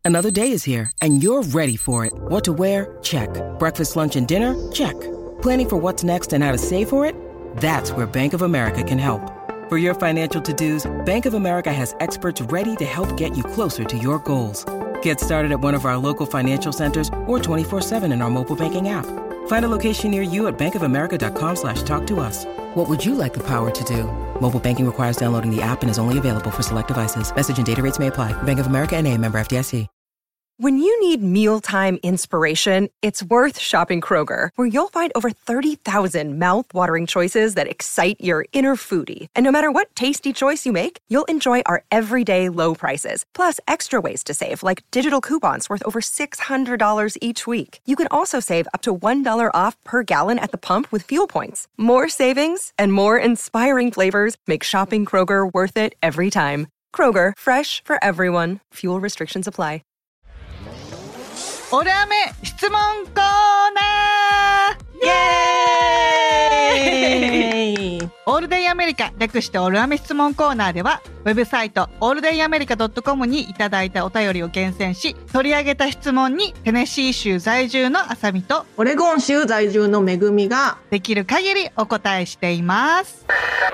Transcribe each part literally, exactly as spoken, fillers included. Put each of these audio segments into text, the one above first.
Another day is here, and you're ready for it. What to wear? Check. Breakfast, lunch, and dinner? Check. Planning for what's next and how to save for it? That's where Bank of America can help. For your financial to-dos, Bank of America has experts ready to help get you closer to your goals. Get started at one of our local financial centers or twenty-four seven in our mobile banking app. Find a location near you at bankofamerica.com slash talk to us. What would you like the power to do? Mobile banking requires downloading the app and is only available for select devices. Message and data rates may apply. Bank of America N A, member F D I C. When you need mealtime inspiration, it's worth shopping Kroger, where you'll find over thirty thousand mouth-watering choices that excite your inner foodie. And no matter what tasty choice you make, you'll enjoy our everyday low prices, plus extra ways to save, like digital coupons worth over six hundred dollars each week. You can also save up to one dollar off per gallon at the pump with fuel points. More savings and more inspiring flavors make shopping Kroger worth it every time. Kroger, fresh for everyone. Fuel restrictions apply. オルアメ質問コーナーイエーイオールデイアメリカ略してオルアメ質問コーナーではウェブサイトオールデイアメリカ .com にいただいたお便りを厳選し取り上げた質問にテネシー州在住のあさみとオレゴン州在住のめぐみができる限りお答えしています。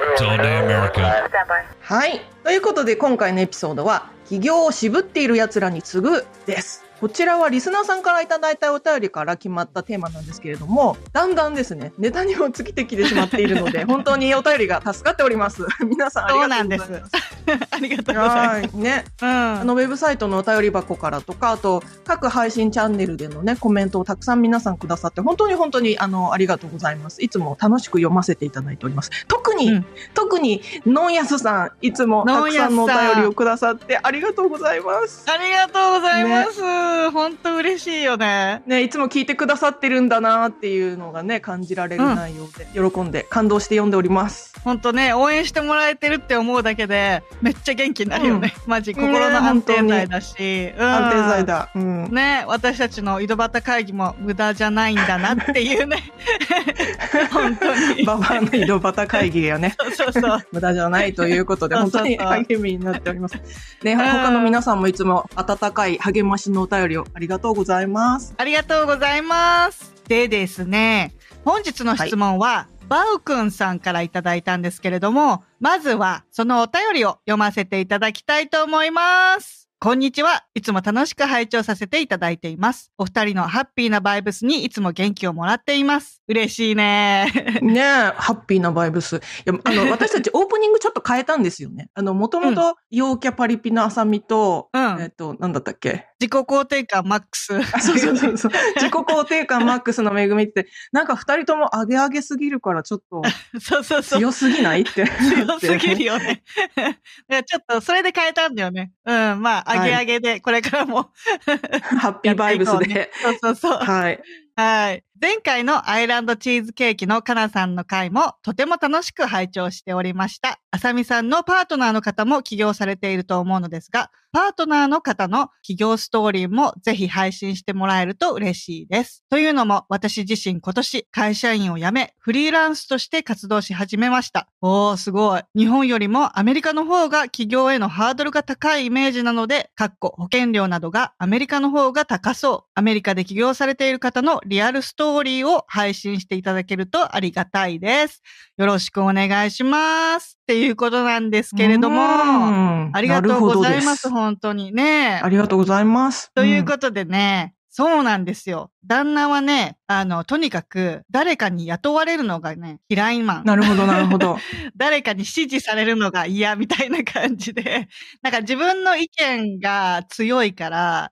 はい、ということで今回のエピソードは起業を渋っている奴らに次ぐです。こちらはリスナーさんからいただいたお便りから決まったテーマなんですけれども、だんだんですね、ネタにも尽きてきてしまっているので、本当にお便りが助かっております。皆さんありがとうございます。そうなんです。 ありがとうございます。 ね、うん、あのウェブサイトのお便り箱からとか、あと各配信チャンネルでのねコメントをたくさん皆さんくださって、本当に本当にあのありがとうございます。いつも楽しく読ませていただいております。特に、うん、特にノンヤスさん、いつもたくさんのお便りをくださってありがとうございます。 ありがとうございます。ね、本当嬉しいよね。 ね、いつも聞いてくださってるんだなっていうのがね感じられる内容で、うん、喜んで感動して読んでおります。 本当ね、応援してもらえてるって思うだけでめっちゃ元気になるよね。うん、マジ心の安定剤だし、うん、 安定剤だ。うん、 ね、私たちの井戸端会議も無駄じゃないんだなっていうね。本当に。ババアの井戸端会議がね、 そうそうそう無駄じゃないということで本当に励みになっております。ね、他の皆さんもいつも温かい励ましのお便りをありがとうございます。 ありがとうございます。でですね、本日の質問は、はい、バウくんさんからいただいたんですけれども、まずはそのお便りを読ませていただきたいと思います。こんにちは。いつも楽しく拝聴させていただいています。お二人のハッピーなバイブスにいつも元気をもらっています。嬉しいね。 ねえ、ハッピーなバイブス。いや、あの、私たちオープニングちょっと変えたんですよね。あの、もともと、陽キャパリピのあさみと、うん、えっと、なんだったっけ？ 自己肯定感マックス。 あ、そうそうそうそう。自己肯定感マックスのめぐみって、なんか二人とも上げ上げすぎるからちょっと、 そうそうそう。 強すぎないって。 強すぎるよね。ちょっと、それで変えたんだよね。うん、まあ、上げ上げで、これからも、 ハッピーバイブスで。 そうそうそう。 はい。 はい。前回のアイランドチーズケーキのかなさんの回もとても楽しく拝聴しておりました。あさみさんのパートナーの方も起業されていると思うのですが、パートナーの方の起業ストーリーもぜひ配信してもらえると嬉しいです。というのも私自身今年会社員を辞めフリーランスとして活動し始めました。おー、すごい。日本よりもアメリカの方が起業へのハードルが高いイメージなので、かっこ保険料などがアメリカの方が高そう。アメリカで起業されている方のリアルストーリーを配信していただけるとありがたいです。よろしくお願いします。っていうことなんですけれども、ありがとうございます。本当にね。 ありがとうございます。 ということでね、うん、そうなんですよ。旦那はね、あの、とにかく誰かに雇われるのがね、嫌いマン。 なるほど、なるほど。 誰かに指示されるのが嫌みたいな感じで、なんか自分の意見が強いから、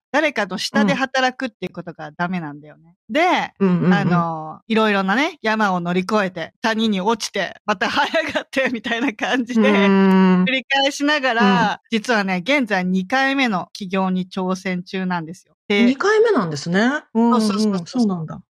誰かの下で働くっていうことがダメなんだよね。うん、で、うんうんうん、あの、いろいろなね、山を乗り越えて、谷に落ちて、また這い上がってみたいな感じで、繰り返しながら、うん、実はね、現在にかいめの起業に挑戦中なんですよ。 にかいめなんですね。 うんうん、そうそうそうそうなんだ。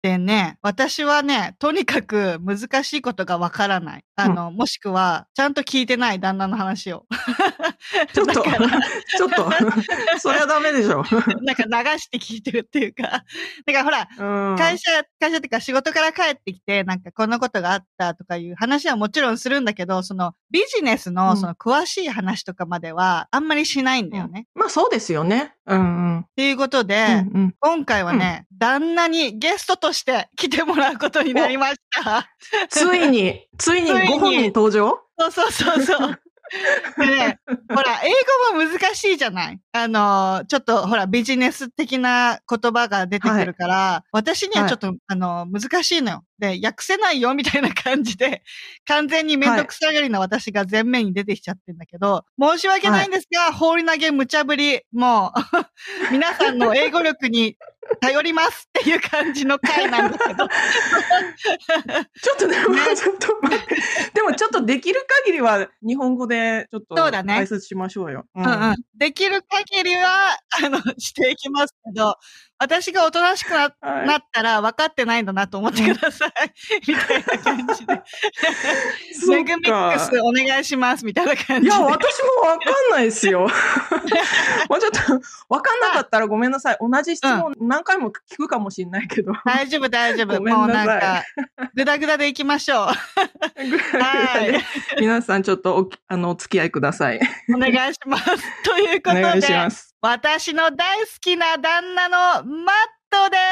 でね、私はね、とにかく難しいことがわからない。あの、うん、もしくは、ちゃんと聞いてない旦那の話を。 ちょっと、ちょっと、それはダメでしょ。 なんか流して聞いてるっていうか。だからほら、うん、会社、会社っていうか仕事から帰ってきて、なんかこんなことがあったとかいう話はもちろんするんだけど、そのビジネスのその詳しい話とかまではあんまりしないんだよね。 うん、まあそうですよね。うんうん。 っていうことで、うんうん、今回はね、うん、旦那にゲストとして来てもらうことになりました。 ついに、ついにご本人登場？ そうそうそうそう。でね、ほら、英語も難しいじゃない？あの、ちょっとほら、ビジネス的な言葉が出てくるから、はい、私にはちょっと、はい、あの、難しいのよ。で、訳せないよみたいな感じで、完全にめんどくさがりな私が前面に出てきちゃってんだけど、申し訳ないんですが、はい、放り投げ無茶ぶり、もう、皆さんの英語力に頼りますっていう感じの回なんだけど。ちょっとでも、ね、ちょっと待って。でもちょっとできる限りは日本語でちょっと解説しましょうよ。 そうだね。うんうんうん。できる限りは、あの、していきますけど、私がおとなしく な,、はい、なったら分かってないんだなと思ってください。みたいな感じで。メグミックスお願いしますみたいな感じで。 いや、私も分かんないですよ。もうちょっと分かんなかったらごめんなさい。同じ質問何回も聞くかもしれないけど。 大丈夫大丈夫。もうなんか、ぐだぐだでいきましょう。 はい。皆さんちょっと お, あのお付き合いください。 お願いします。ということで。お願いします。私の大好きな旦那のマットです。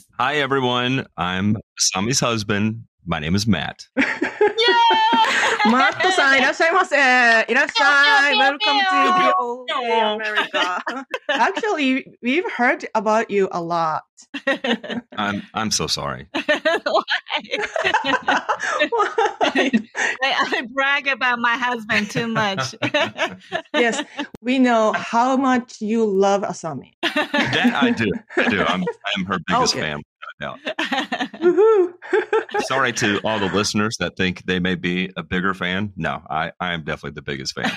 Hi everyone, I'm Asami's husband. My name is Matt. マットさんいらっしゃいませ。いらっしゃい。Welcome to Old America. Actually, we've heard about you a lot. I'm I'm so sorry. Why? Why? I brag about my husband too much. Yes, we know how much you love Asami. That I do. I do. I'm I'm her biggest okay. fan. No. Sorry to all the listeners that think they may be a bigger fan. No, I, I am definitely the biggest fan.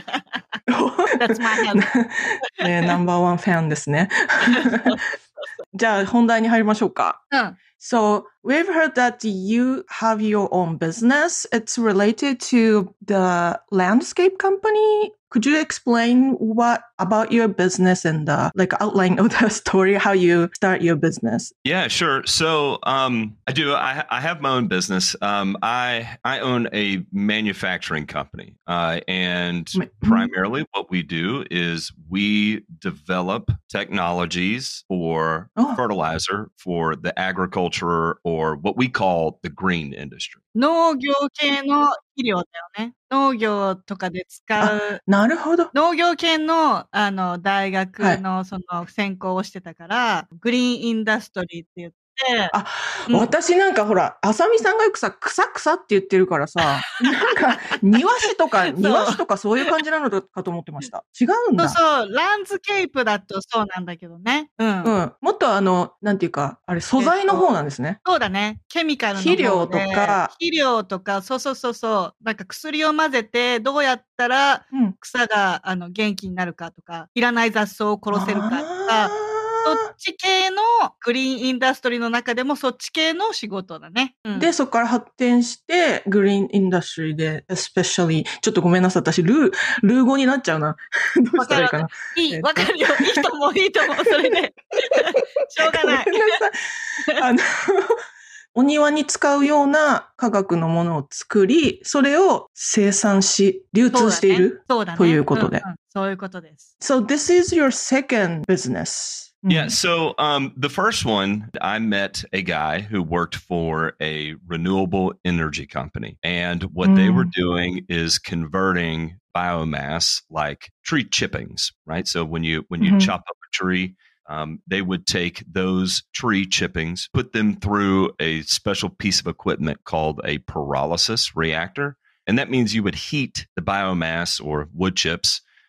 That's my husband. ね、ナンバーワンファンですね。じゃあ本題に入りましょうか。うん。So, we've heard that you have your own business. It's related to the landscape company. Could you explain what about your business and the like outline of the story, how you start your business? Yeah, sure. So um, I do. I, I have my own business. Um, I I own a manufacturing company, uh, and mm-hmm. primarily what we do is we develop technologies for oh. fertilizer for the agriculture or what we call the green industry. 農業系の肥料だよね。農業とかで使う。 なるほど。 農業系の、あの、大学のその専攻をしてたから、はい、グリーンインダストリーって言って、 あ、うん、私なんかほら、あさみさんがよくさ、草草って言ってるからさ、なんか、庭師とか、庭師とかそういう感じなのかと思ってました。違うんだ。 そうそう、ランズケープだとそうなんだけどね。うん。 うん。もっとあの、なんていうか、あれ、素材の方なんですね。 そうだね。ケミカルの方で。 肥料とか。 肥料とか、そうそうそうそう。なんか薬を混ぜて、どうやったら草が、うん、あの元気になるかとか、いらない雑草を殺せるかとか、そっち系のグリーンインダストリーの中でもそっち系の仕事だね。うん、 で、そこから発展して、グリーンインダストリーで、especially、ちょっとごめんなさい。私、ルー、ルー語になっちゃうな。どうしたらいいかな。 いい、わかるよ。いいと思う、いいと思う。それで。しょうがない。 ごめんなさい。あの、お庭に使うような化学のものを作り、それを生産し、流通している、 そうだね、 ということで、 うんうん。そういうことです。 So this is your second business. Yeah. So um, the first one, I met a guy who worked for a renewable energy company. And what mm. they were doing is converting biomass like tree chippings, right? So when you when you mm-hmm. chop up a tree, um, they would take those tree chippings, put them through a special piece of equipment called a pyrolysis reactor. And that means you would heat the biomass or wood chips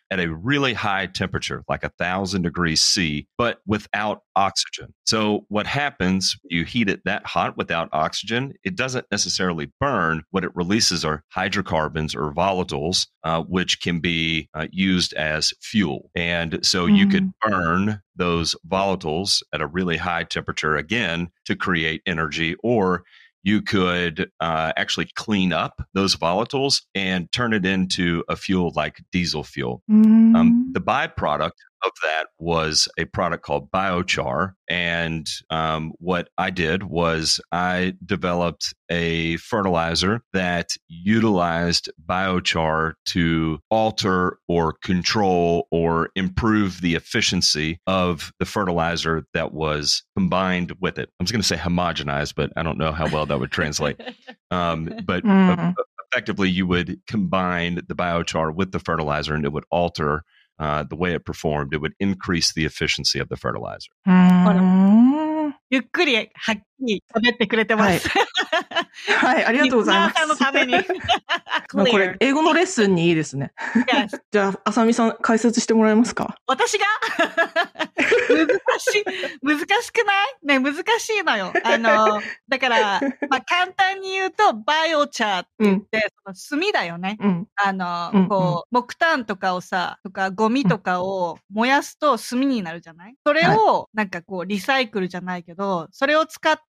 at a really high temperature, like a thousand degrees C, but without oxygen. So what happens, you heat it that hot without oxygen, it doesn't necessarily burn. What it releases are hydrocarbons or volatiles, uh, which can be uh, used as fuel. And so mm. you could burn those volatiles at a really high temperature again to create energy, or you could uh, actually clean up those volatiles and turn it into a fuel like diesel fuel. Mm. Um, the byproduct of that was a product called biochar. And um, what I did was I developed a fertilizer that utilized biochar to alter or control or improve the efficiency of the fertilizer that was combined with it. I was going to say homogenized, but I don't know how well that would translate. Um, but mm. effectively, you would combine the biochar with the fertilizer and it would alter Uh, the way it performed. It would increase the efficiency of the fertilizer. ゆっくりはっきり喋ってくれてます。 はい、はい、ありがとうございます。 リスナーさんのために。 まあこれ、英語のレッスンにいいですね。 Yes. じゃあ、あさみさん、解説してもらえますか？ 私が難しい、難しくないね、難しいのよ。あの、だから、まあ、簡単に言うと、バイオチャーって言って、うん、その炭だよね。うん、あの、うん、こう、木炭とかをさ、とかゴミとかを燃やすと炭になるじゃない？それを、なんかこう、リサイクルじゃないけど、それを使って、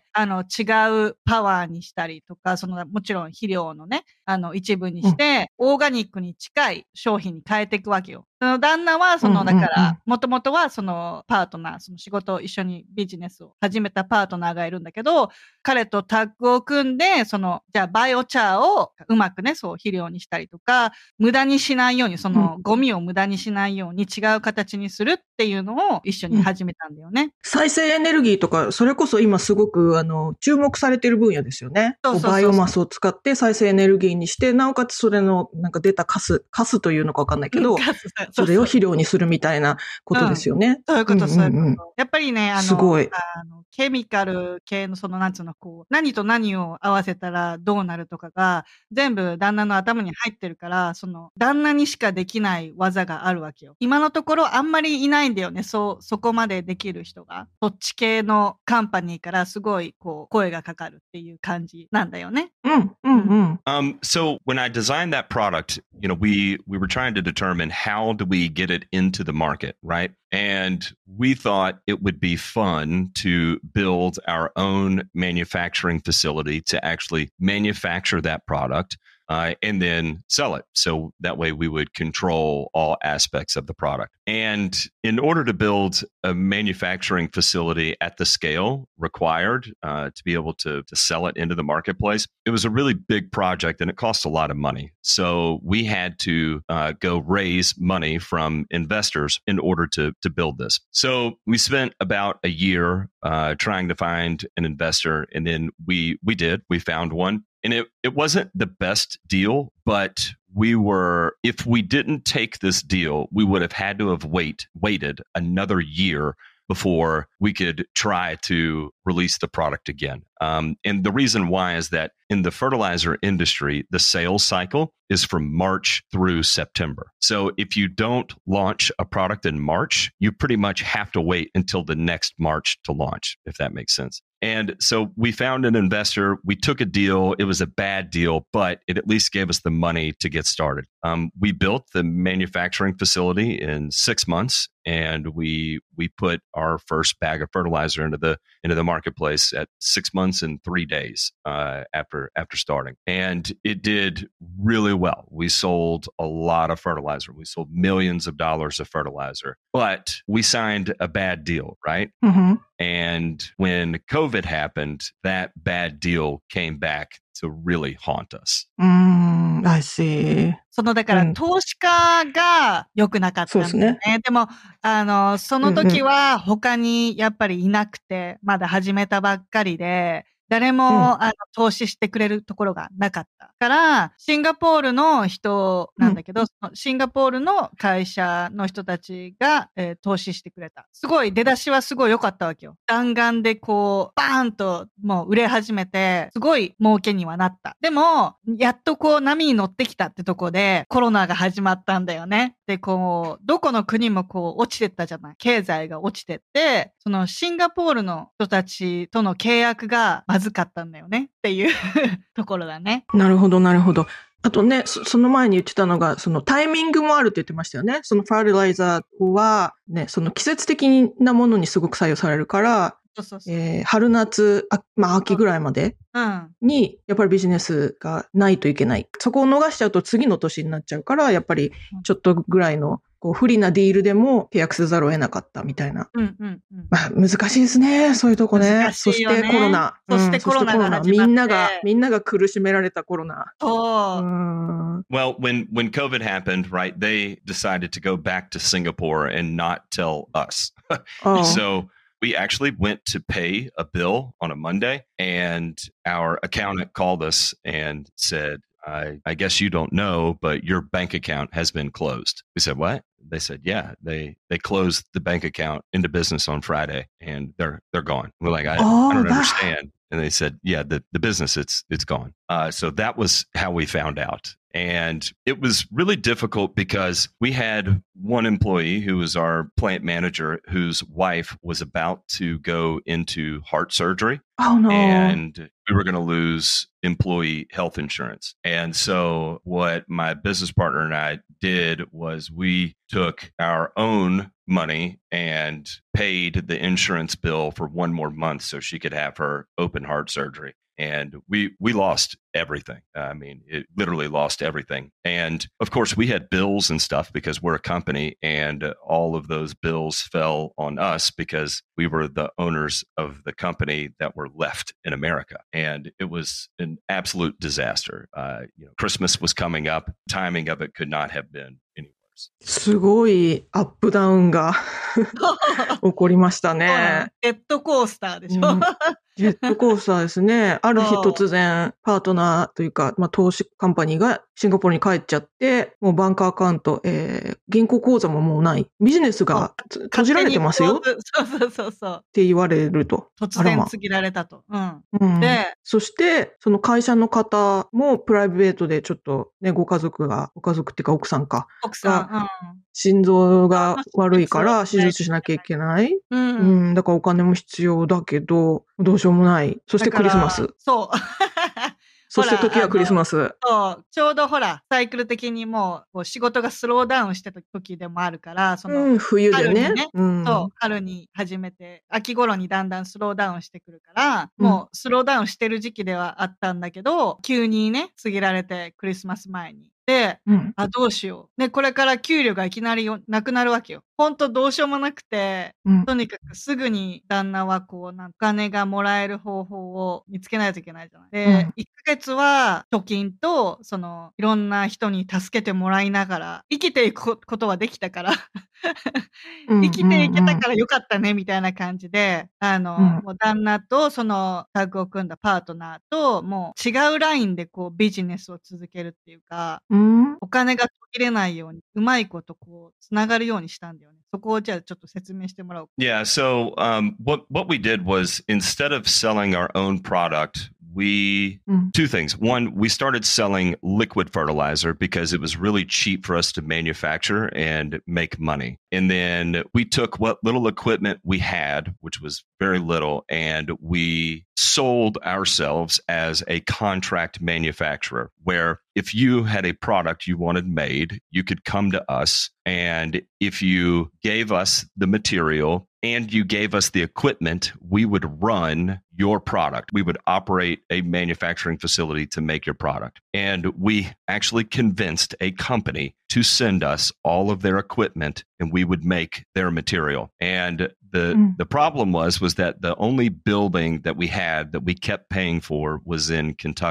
うん、あの、違うパワーにしたりとか、その、もちろん肥料のね、あの、一部にして、うん、オーガニックに近い商品に変えていくわけよ。その旦那は、その、だから、もともとは、その、パートナー、その仕事を一緒にビジネスを始めたパートナーがいるんだけど、彼とタッグを組んで、その、じゃあ、バイオチャーをうまくね、そう、肥料にしたりとか、無駄にしないように、その、ゴミを無駄にしないように違う形にするっていうのを一緒に始めたんだよね。うん、 再生エネルギーとか、それこそ今すごく、あの、注目されている分野ですよね。そうそうそうそう。バイオマスを使って再生エネルギーにして、なおかつそれの、なんか出たカス、カスというのかわかんないけど、それを肥料にするみたいなことですよね。 うん、そういうこと、そういうこと。やっぱりね、あの、すごい。あの、ケミカル系のその、なんつうの、こう、何と何を合わせたらどうなるとかが、全部旦那の頭に入ってるから、その、旦那にしかできない技があるわけよ。今のところあんまりいないんだよね。そう、そこまでできる人が。そっち系のカンパニーからすごい、こう、声がかかるっていう感じなんだよね。 うん、うん、うん。 Um, so when I designed that product, you know, we, we were trying to determine how do we get it into the market, right? And we thought it would be fun to build our own manufacturing facility to actually manufacture that product. Uh, and then sell it. So that way we would control all aspects of the product. And in order to build a manufacturing facility at the scale required uh, to be able to, to sell it into the marketplace, it was a really big project and it cost a lot of money. So we had to uh, go raise money from investors in order to, to build this. So we spent about a year uh, trying to find an investor, and then we we did. We found one. And it, it wasn't the best deal, but we were, if we didn't take this deal, we would have had to have wait, waited another year before we could try to release the product again. Um, and the reason why is that in the fertilizer industry, the sales cycle is from March through September. So if you don't launch a product in March, you pretty much have to wait until the next March to launch, if that makes sense. And so we found an investor. We took a deal. It was a bad deal, but it at least gave us the money to get started. Um, we built the manufacturing facility in six months, and we we put our first bag of fertilizer into the into the marketplace at six months and three days uh, after after starting, and it did really well. We sold a lot of fertilizer. We sold millions of dollars of fertilizer, but we signed a bad deal, right? Mm-hmm. And when COVID happened, that bad deal came back to really haunt us. Mm, I see. そのだから、うん、投資家が良くなかったんだよね。そうですね。でも、あの、その時は他にやっぱりいなくて、まだ始めたばっかりで、 誰も、 うんあの投資してくれるところがなかったから、シンガポールの人なんだけど、そのシンガポールの会社の人たちが、えー投資してくれた。すごい、出だしはすごい良かったわけよ。弾丸でこう、バーンともう売れ始めて、すごい儲けにはなった。でも、やっとこう波に乗ってきたってとこで、コロナが始まったんだよね。で、こう、どこの国もこう、落ちてったじゃない。経済が落ちてって、そのシンガポールの人たちとの契約がまずかったんだよねっていうところだね。 なるほど、なるほど。あとね、そその前に言ってたのが、そのタイミングもあるって言ってましたよね。そのファーティライザーは、ね、その季節的なものにすごく左右されるから、 そうそうそう。 えー春夏、あまあ秋ぐらいまでうん。 に、やっぱりビジネスがないといけない。そこを逃しちゃうと次の年になっちゃうから、やっぱりちょっとぐらいのこう不利なディールでも契約せざるを得なかったみたいな。 うんうんうん。 まあ難しいですね、そういうとこね。 難しいよねそしてコロナ。 そしてうんコロナが始まってそしてコロナみんなが、みんなが苦しめられたコロナ。 そうう。 ん Well, when when COVID happened, right, they decided to go back to Singapore and not tell us. Oh. So we actually went to pay a bill on a Monday, and our accountant called us and said, I, I guess you don't know, but your bank account has been closed. We said, what? They said, yeah, they, they closed the bank account into business on Friday, and they're they're gone. We're like, I, Oh, I don't that- understand. And they said, yeah, the, the business, it's it's gone. Uh, so that was how we found out. And it was really difficult because we had one employee who was our plant manager whose wife was about to go into heart surgery. Oh no. And we were going to lose employee health insurance. And so what my business partner and I did was we took our own money and paid the insurance bill for one more month so she could have her open heart surgery. And we we lost everything. I mean, it literally lost everything. And of course, we had bills and stuff because we're a company, and all of those bills fell on us because we were the owners of the company that were left in America. And it was an absolute disaster. Uh, you know, Christmas was coming up. Timing of it could not have been any worse. すごいアップダウンが起こりましたね。 ジェットコースターでしょ。 うんジェットコースターですね。ある日そう突然、パートナーというか、まあ、投資カンパニーがシンガポールに帰っちゃって、もうバンクアカウント、えー、銀行口座ももうない。ビジネスがつ閉じられてますよっそうそうそうそう。 て言われると。 突あらま然告げられたと。うん。 うん、 で、 そして、その会社の方もプライベートでちょっとね、ご家族が、ご家族っていうか奥さんか、 奥さん。 心臓が悪いから手手術術しなきゃいけない。 うん。 ううん。 ん、だからお金も必要だけど、どうしようもない。そしてクリスマスだか。らそう。 そして時はクリスマス。 そう。ちょうどほら、サイクル的にもうこう仕事がスローダウンしてた時でもあるから、その、 うん、冬でね。 春にねうん、 そう、春に始めて、秋頃にだんだんスローダウンしてくるから、 うんもうスローダウンしてる時期ではあったんだけど、急にね、告げられて、クリスマス前に。で、 うん。 あ、どうしよう。ね、これから給料がいきなりよなくなるわけよ。ほんとどうしようもなくて、 うん。 とにかくすぐに旦那はこう、なんかお金がもらえる方法を見つけないといけないじゃない。で、 うんいっかげつは貯金と、その、いろんな人に助けてもらいながら、生きていくことはできたから、 うん生きていけたからよかったね、みたいな感じで、あの、 うんもう旦那とそのタッグを組んだパートナーと、もう違うラインでこうビジネスを続けるっていうか、 うん。 お金が途切れないように、うまいことこう、つながるようにしたんだよね。そこをじゃあちょっと説明してもらおう。 Yeah. So um, what what we did was instead of selling our own product, we Mm. two things. One, we started selling liquid fertilizer because it was really cheap for us to manufacture and make money. And then we took what little equipment we had, which was very little, and we sold ourselves as a contract manufacturer, where if you had a product you wanted made, you could come to us. And if you gave us the material and you gave us the equipment, we would run your product. We would operate a manufacturing facility to make your product. And we actually convinced a company to send us all of their equipment and we would make their material. And the Mm. the problem was was that the only building that we had that we kept paying for was in Kentucky.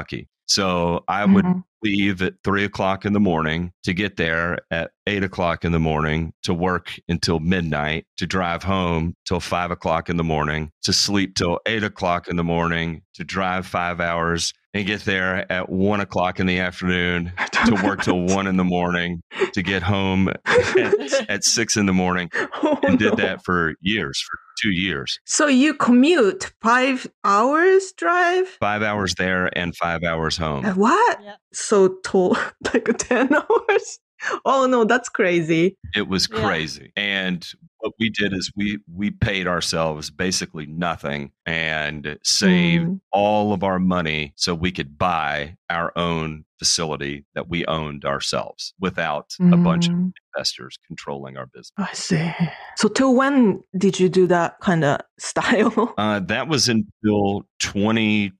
So I would leave at three o'clock in the morning to get there at eight o'clock in the morning to work until midnight, to drive home till five o'clock in the morning, to sleep till eight o'clock in the morning, to drive five hours and get there at one o'clock in the afternoon, to work till one in the morning, to get home at, at six in the morning, Oh, and did no. that for years, for two years. So you commute five hours drive? Five hours there and five hours home. Uh, What? Yeah. So tall, like ten hours? Oh no, that's crazy. It was Yeah. crazy. And what we did is we we paid ourselves basically nothing and saved Mm. all of our money so we could buy our own facility that we owned ourselves without a bunch of Mm. investors controlling our business. I see. So till when did you do that kind of style? Uh, that was until twenty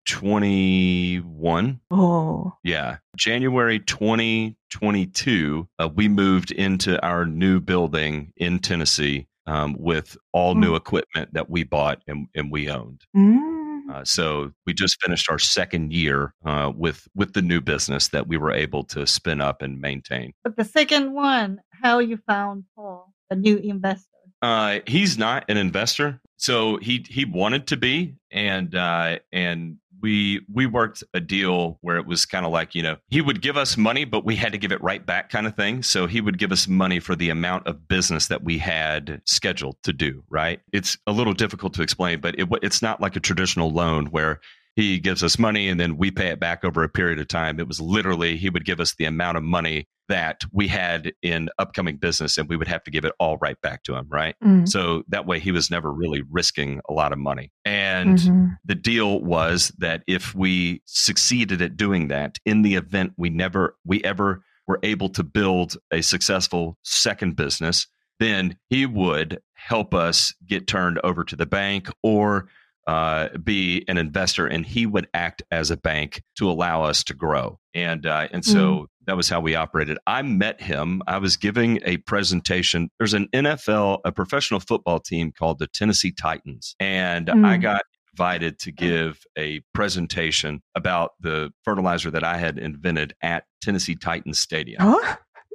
twenty-one. Oh. Yeah. January twenty twenty-two, uh, we moved into our new building in Tennessee um, with all new equipment that we bought and, and we owned. Mm. Uh, so we just finished our second year uh, with with the new business that we were able to spin up and maintain. But the second one, how you found Paul, a new investor? Uh, he's not an investor, so he he wanted to be, and uh, and we we worked a deal where it was kind of like, you know, he would give us money, but we had to give it right back, kind of thing. So he would give us money for the amount of business that we had scheduled to do. Right? It's a little difficult to explain, but it, it's not like a traditional loan where he gives us money and then we pay it back over a period of time. It was literally he would give us the amount of money that we had in upcoming business and we would have to give it all right back to him, right? Mm. So that way he was never really risking a lot of money. And Mhm. the deal was that if we succeeded at doing that, in the event we never we ever were able to build a successful second business, then he would help us get turned over to the bank or uh, be an investor, and he would act as a bank to allow us to grow. And uh, and so Mm. that was how we operated. I met him. I was giving a presentation. There's an N F L, a professional football team called the Tennessee Titans, and Mm. I got invited to give a presentation about the fertilizer that I had invented at Tennessee Titans Stadium. Huh?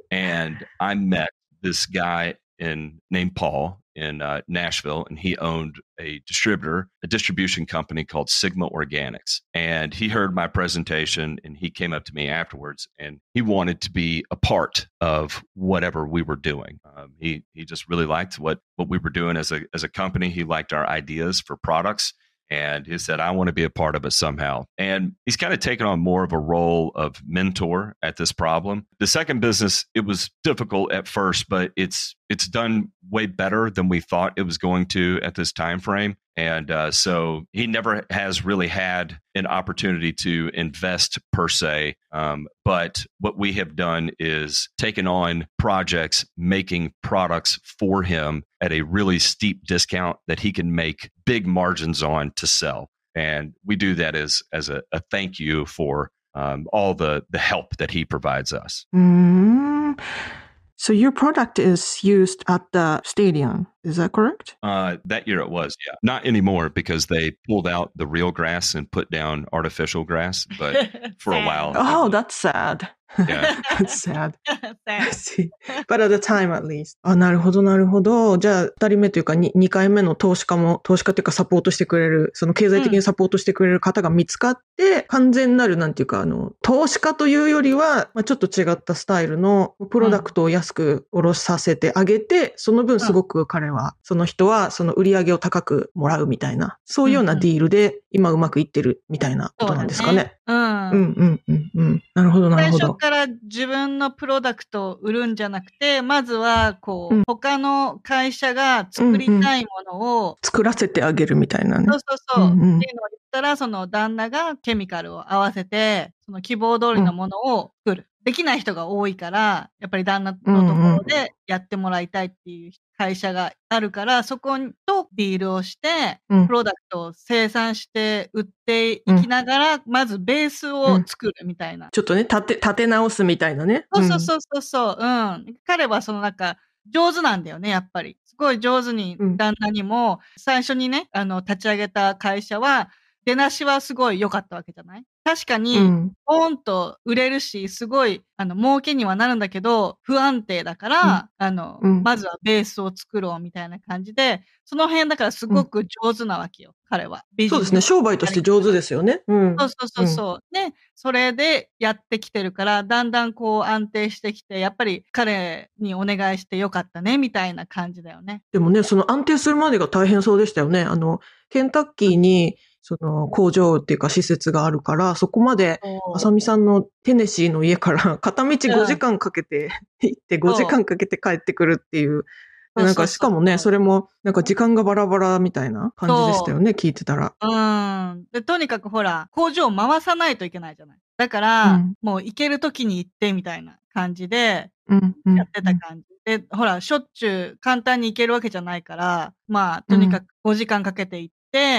And I met this guy in named Paul in uh, Nashville, and he owned a distributor, a distribution company called Sigma Organics. And he heard my presentation, and he came up to me afterwards, and he wanted to be a part of whatever we were doing. Um, he he just really liked what what we were doing as a as a company. He liked our ideas for products. And he said, I want to be a part of it somehow. And he's kind of taken on more of a role of mentor at this problem. The second business, it was difficult at first, but it's it's done way better than we thought it was going to at this time frame. And uh, so he never has really had an opportunity to invest per se. Um, but what we have done is taken on projects, making products for him at a really steep discount that he can make big margins on to sell. And we do that as as a, a thank you for um, all the the help that he provides us. Mm. So your product is used at the stadium, is that correct? Uh, that year it was, yeah. Not anymore because they pulled out the real grass and put down artificial grass. But for a while, Oh, that's sad. Yeah. That's sad. I Sad. see. But at the time at least. あ、なるほど、なるほど。じゃあ、二人目というか、に二回目の投資家も、投資家というかサポートしてくれる、その経済的にサポートしてくれる方が見つかって、完全なる、なんていうか、あの、投資家というよりは、まあ、ちょっと違ったスタイルのプロダクトを安く下ろさせてあげて、その分すごく彼は、その人は、その売り上げを高くもらうみたいな、そういうようなディールで、今うまくいってるみたいなことなんですかね。 うん。 うんうんうんうん。なるほど、なる最ほど。 初から自分のプロダクトを売るんじゃなくて、まずは、こう、 うん他の会社が作りたいものを、 作らせてあげるみたいなねそう。そうそう、 うんうんっていうのを言ったら、その旦那がケミカルを合わせて、その希望通りのものを作る。できない人が多いから、やっぱり旦那のところでやってもらいたいっていう会社があるから、そことディールをして、 うんプロダクトを生産して売っていきながら、まずベースを作るみたいな。 ちょっとね、立て、立て直すみたいなね。 そうそうそうそうそう、うん。彼はそのなんか、上手なんだよね、やっぱり。すごい上手にうん旦那にも、最初にね、あの、立ち上げた会社は、 出なしはすごい良かったわけじゃない？確かうに、 ん。 ポーンと売れるし、すごい、あの、儲けにはなるんだけど、不安定だかうん。 ら、あの、 うん。 まずはベースを作ろうみたいな感じで、その辺だからすうん。 ごく上手なわけよ、彼は。ビそうですね。 ジネス商売とやして上手り方が。 ですよね。うんそうそうそううん。 そう。で、それでやってきてるから、だんだんこう安定してきて、やっぱり彼にお願いしてよかったね、みたいな感じだよね。 でもね、その安定するまでが大変そうでしたよね。あの、ケンタッキーに、その工場っていうか施設があるから、そこまで、あさそみさんのテネシーの家から片道う。う 5時ん。 間かけて行って5時そう。 間かけて帰ってくるっていう。で、 そうなんかそうそうしかもね、 そそれもなんか時間がバラバラみたいなう。 感じでしたそよね、聞いてたら。 う。うーん。で、とにかくほら、工場を回さないといけないじゃない。だかうら、 ん。 もう行ける時に行ってみたいな感じで、 うん、うやっん、うん。 てた感じ。で、ほら、しょっちゅう簡単に行けるわけじゃないから、まあ、 うん、 とにかくごじかんかけて行って、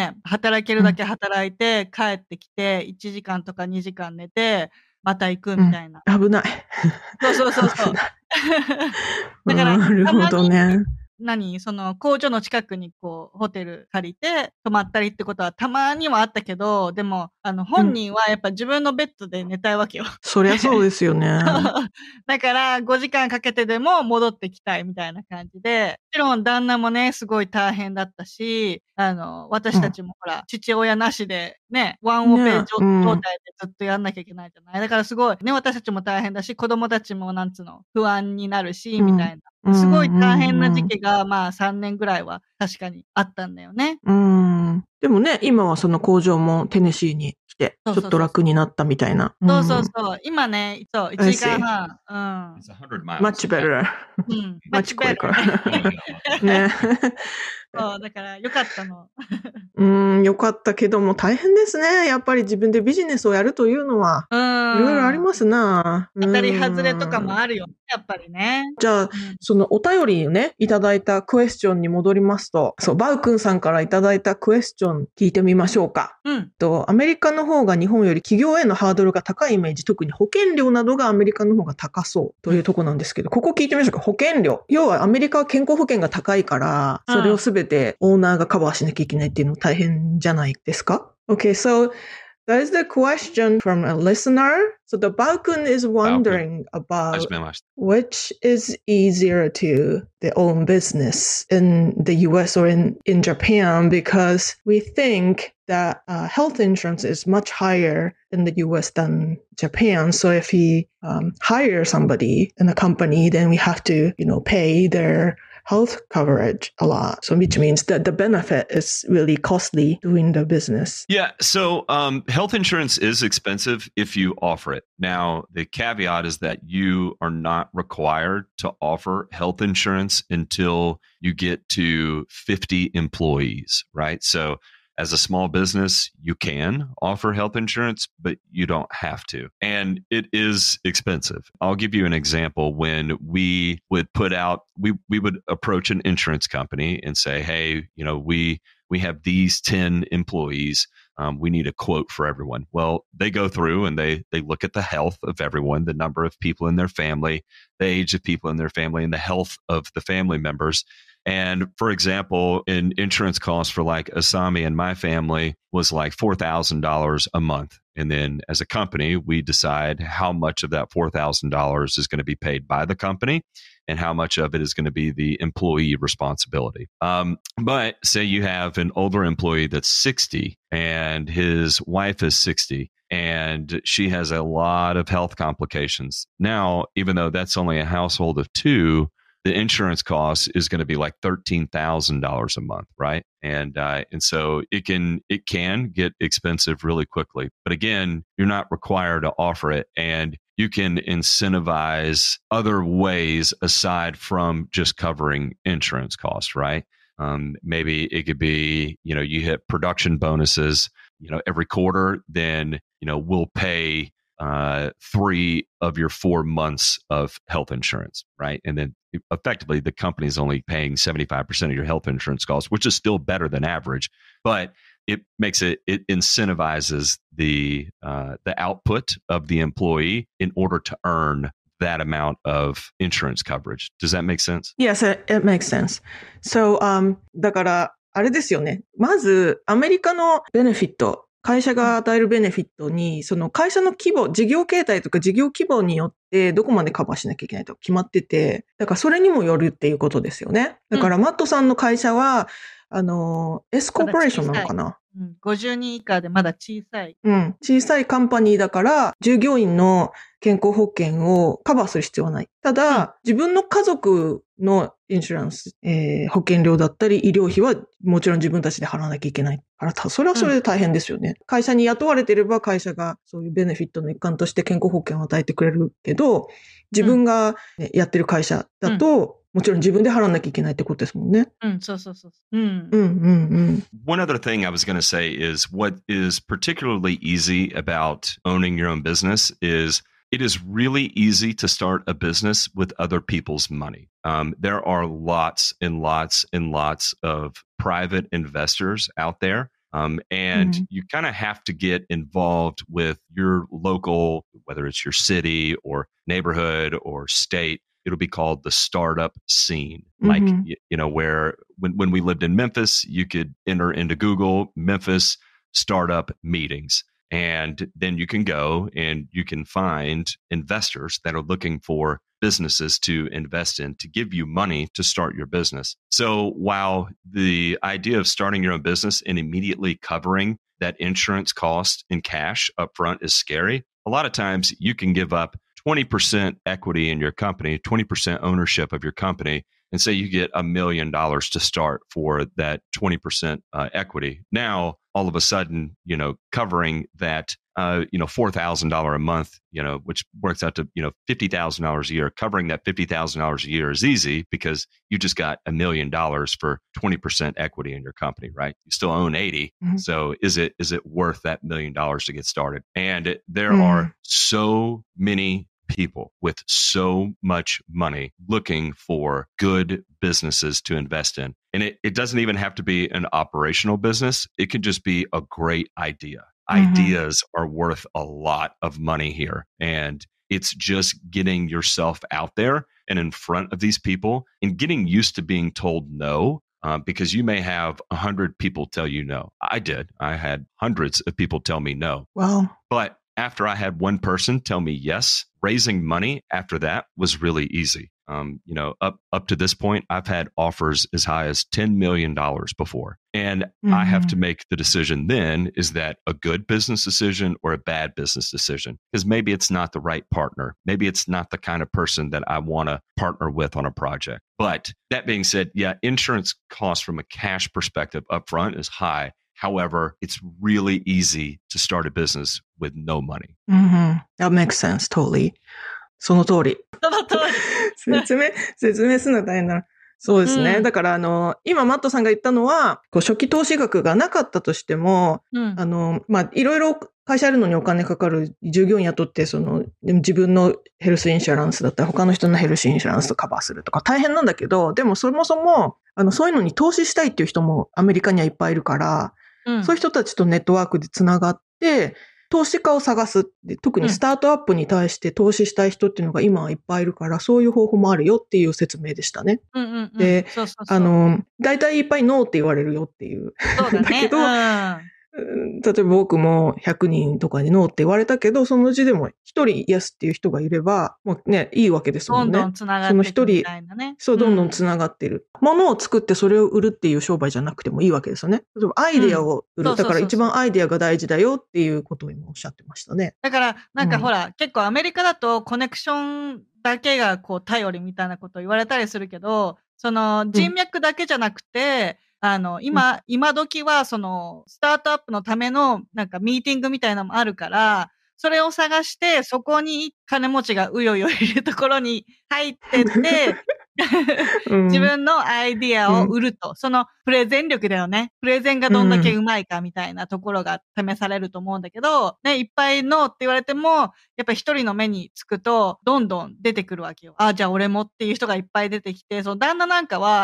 働けるうん、 だけ働いて、帰ってきて、いちじかんとかにじかん寝て、また行くうん。 みたいな。 危ない。 そうそうそうそう。 危ない。 だから、 なるほたまに、 どね。 何その工場の近くにこう、ホテル借りて泊まったりってことはたまにはあったけど、でも、あの、 う本ん。 人はやっぱ自分のベッドで寝たいわけよ。 そりゃそうですよね。 だからごじかんかけてでも戻ってきたいみたいな感じで、もちろん旦那もね、すごい大変だったし、あの、 う私たん。 ちもほら、父親なしでね、ワンオペね、 状う状ん。 態でずっとやんなきゃいけないじゃない。だからすごいね、私たちも大変だし、子供たちもなんつうの、不安になるし、 うん。 みたいな。 うすごい大変なん、うん、 時期が、まあさんねんぐらいは確かにあったんだよね。 うん。うん。でもね、今はその工場もテネシーに来て、 そうちょっとそうそうそう。 楽になったみたいな。うそうそうん。 そう。今ね、そう、1 I 時間 see. 半。うん。 It's one hundred miles. much better. うん。 マ much チコやか better ら。 ね。 ね。 そう、だから良かったの。 うーん、よかったけども大変ですね。やっぱり自分でビジネスをやるというのは、 ういろいろありーん。 ますな。う当たり外れとかーん。 もあるよね、やっぱりね。 じゃあ、 うん。 そのお便りね、いただいたクエスチョンに戻りますと、そう、バウ君さんからいただいたクエスチョン聞いてみましょうか。 うん。 と、アメリカの方が日本より企業へのハードルが高いイメージ、特に保険料などがアメリカの方が高そうというところなんですけど、ここ聞いてみましょうか。保険料。要はアメリカは健康保険が高いから、それをすべてオーナーがカバーしなきゃいけないっていうの大変じゃないですか？ Okay, so that is the question from a listener. So the Balkun is wondering about 始めました。 which is easier to the own business in the U S or in, in Japan, because we think that uh, health insurance is much higher in the U S than Japan. So if we um, hire somebody in a company, then we have to, you know, pay their health coverage a lot. So which means that the benefit is really costly doing the business. Yeah. So um, health insurance is expensive if you offer it. Now, the caveat is that you are not required to offer health insurance until you get to fifty employees, right? So as a small business, you can offer health insurance, but you don't have to. And it is expensive. I'll give you an example. When we would put out, we, we would approach an insurance company and say, hey, you know, we, we have these ten employees. Um, we need a quote for everyone. Well, they go through and they, they look at the health of everyone, the number of people in their family, the age of people in their family, and the health of the family members. And for example, in insurance costs for like Asami and my family was like four thousand dollars a month. And then as a company, we decide how much of that four thousand dollars is going to be paid by the company and how much of it is going to be the employee responsibility. Um, but say you have an older employee that's sixty and his wife is sixty. And she has a lot of health complications. Now, even though that's only a household of two, the insurance cost is going to be like thirteen thousand dollars a month, right? And uh, and so it can it can get expensive really quickly. But again, you're not required to offer it, and you can incentivize other ways aside from just covering insurance costs, right? Um, maybe it could be, you know, you hit production bonuses, you know, every quarter, then, you know, we'll pay uh, three of your four months of health insurance, right? And then effectively the company is only paying seventy-five percent of your health insurance costs, which is still better than average, but it makes it, it incentivizes the, uh, the output of the employee in order to earn that amount of insurance coverage. Does that make sense? Yes, it, it makes sense. So, um, だから、あれですよね。まず、アメリカのベネフィット会社が与えるベネフィットに、その会社の規模、事業形態とか事業規模によってどこまでカバーしなきゃいけないとか決まってて、だからそれにもよるっていうことですよね。だからマットさんの会社は、あの、S コーポレーションなのかな？ うん、ごじゅうにん以下でまだ小さい。 うん。小さいカンパニーだから、従業員の健康保険をカバーする必要はない。ただ、うん、自分の家族のインシュランス、えー、保険料だったり医療費はもちろん自分たちで払わなきゃいけないから、それはそれで大変ですよね。うん、会社に雇われてれば会社がそういうベネフィットの一環として健康保険を与えてくれるけど、自分が、ね、やってる会社だと、うんもちろん自分で払わなきゃいけないってことですもんね。 うん、そうそうそう。うん。 うんうんうん。 One other thing I was going to say is what is particularly easy about owning your own business is it is really easy to start a business with other people's money. Um, there are lots and lots and lots of private investors out there. Um, and mm-hmm. you kind of have to get involved with your local, whether it's your city or neighborhood or state. It'll be called the startup scene. Mm-hmm. Like, you know, where when, when we lived in Memphis, you could enter into Google Memphis startup meetings. And then you can go and you can find investors that are looking for businesses to invest in to give you money to start your business. So while the idea of starting your own business and immediately covering that insurance cost in cash upfront is scary, a lot of times you can give up twenty percent equity in your company, twenty percent ownership of your company, and say you get a million dollars to start for that twenty percent uh, equity. Now, all of a sudden, you know, covering that, uh, you know, four thousand dollars a month, you know, which works out to, you know, fifty thousand dollars a year, covering that fifty thousand dollars a year is easy because you just got a million dollars for twenty percent equity in your company, right? You still own eighty. Mm-hmm. So is it, is it worth that million dollars to get started? And it, there mm-hmm. are so many people with so much money looking for good businesses to invest in. And it, it doesn't even have to be an operational business. It could just be a great idea. Mm-hmm. Ideas are worth a lot of money here. And it's just getting yourself out there and in front of these people and getting used to being told no. Uh, because you may have a hundred people tell you no. I did. I had hundreds of people tell me no. Wow. But after I had one person tell me yes, raising money after that was really easy. Um, you know, up up to this point, I've had offers as high as ten million dollars before. And mm-hmm. I have to make the decision then, is that a good business decision or a bad business decision? Because maybe it's not the right partner. Maybe it's not the kind of person that I want to partner with on a project. But that being said, yeah, insurance costs from a cash perspective upfront is high. However, it's really easy to start a business with no money. Mm-hmm. That makes sense, totally. その通り。 その通り。 説明、説明するのは大変だな。そうですね。うん、だから、あの、今、マットさんが言ったのは、こう初期投資額がなかったとしても、うん、あの、まあ、いろいろ会社やるのにお金かかる、従業員雇って、その、自分のヘルスインシュランスだったら他の人のヘルスインシュランスとカバーするとか大変なんだけど、でもそもそも、あの、そういうのに投資したいっていう人もアメリカにはいっぱいいるから、うん、そういう人たちとネットワークでつながって、投資家を探す。特にスタートアップに対して投資したい人っていうのが今はいっぱいいるから、そういう方法もあるよっていう説明でしたね。 うんうんうん、 で、 そうそうそう、 あの、大体いっぱいノーって言われるよっていう。 そうだね。 だけど、 うん例えば僕もひゃくにんとかにノーって言われたけど、そのうちでも一人イエスっていう人がいれば、もうね、いいわけですもんね。 どんどんつながっていくみたいなね。 そう、どんどんつながってる。うん、物を作ってそれを売るっていう商売じゃなくてもいいわけですよね。例えばアイディアを売る。うん、だから一番アイディアが大事だよっていうことを今おっしゃってましたね。 だから、なんかほら、うん、結構アメリカだとコネクションだけがこう頼りみたいなことを言われたりするけど、その人脈だけじゃなくて、うんあの、今、うん、今時は、その、スタートアップのための、なんか、ミーティングみたいなのもあるから、それを探して、そこに金持ちがうよよいるところに入ってって、うん、自分のアイディアを売ると、うん。その、プレゼン力だよね。プレゼンがどんだけうまいかみたいなところが試されると思うんだけど、ね、いっぱいノーって言われても、やっぱり一人の目につくと、どんどん出てくるわけよ。あ、じゃあ俺もっていう人がいっぱい出てきて、その旦那なんかは、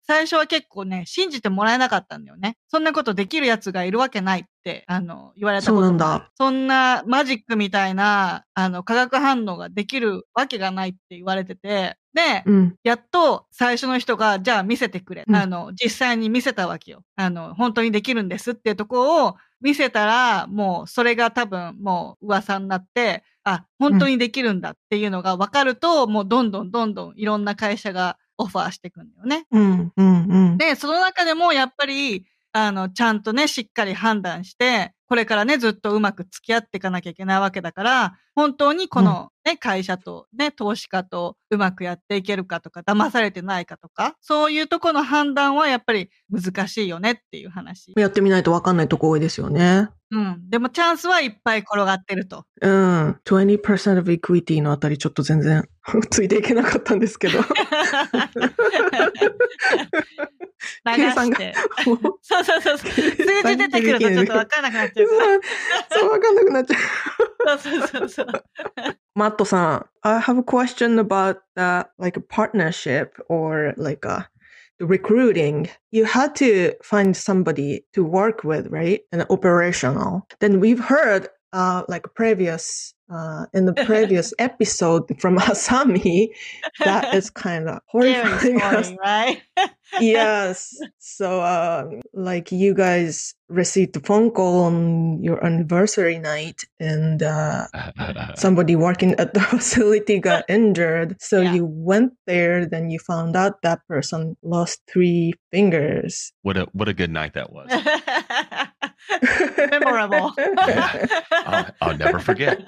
最初は結構ね、信じてもらえなかったんだよね。そんなことできるやつがいるわけないって、あの、言われたこともある。 そうなんだ。 そんなマジックみたいな、あの、化学反応ができるわけがないって言われてて、で、 うん。 やっと最初の人が、じゃあ見せてくれ。 うんあの、実際に見せたわけよ。あの、本当にできるんですっていうところを見せたら、もうそれが多分もう噂になって、あ、本当にできるんだっていうのが分かると、もうどんどんどんどんいろんな会社がオファーしていくんだよね。 うん。うん。うん。 で、その中でもやっぱり、あの、ちゃんとね、しっかり判断して、これからね、ずっとうまく付き合っていかなきゃいけないわけだから、本当にこのね、会社とね、投資家とうまくやっていけるかとか、騙されてないかとか、そういうとこの判断はやっぱり難しいよねっていう話。 やってみないと分かんないとこ多いですよね。 うん。でもチャンスはいっぱい転がってると。 うん。にじゅっパーセント of equity のあたりちょっと全然ついていけなかったんですけど。 流計算がして。そうそうそうそう。数字出てくるとちょっとわかんなくなっちゃうから。 そう、わかんなくなっちゃう。 そうそうそうそう。 マットさん、I have a question about the like a partnership or like a the recruiting. You had to find somebody to work with, right? And operational. Then we've heard uh like previous uh in the previous episode from Asami that is kind of horrifying Scary us. story, right? Yes. So, uh, like you guys received the phone call on your anniversary night and, uh, somebody working at the facility got injured. So Yeah. you went there, then you found out that person lost three fingers. What a what a good night that was. Memorable. Yeah. I'll, I'll never forget.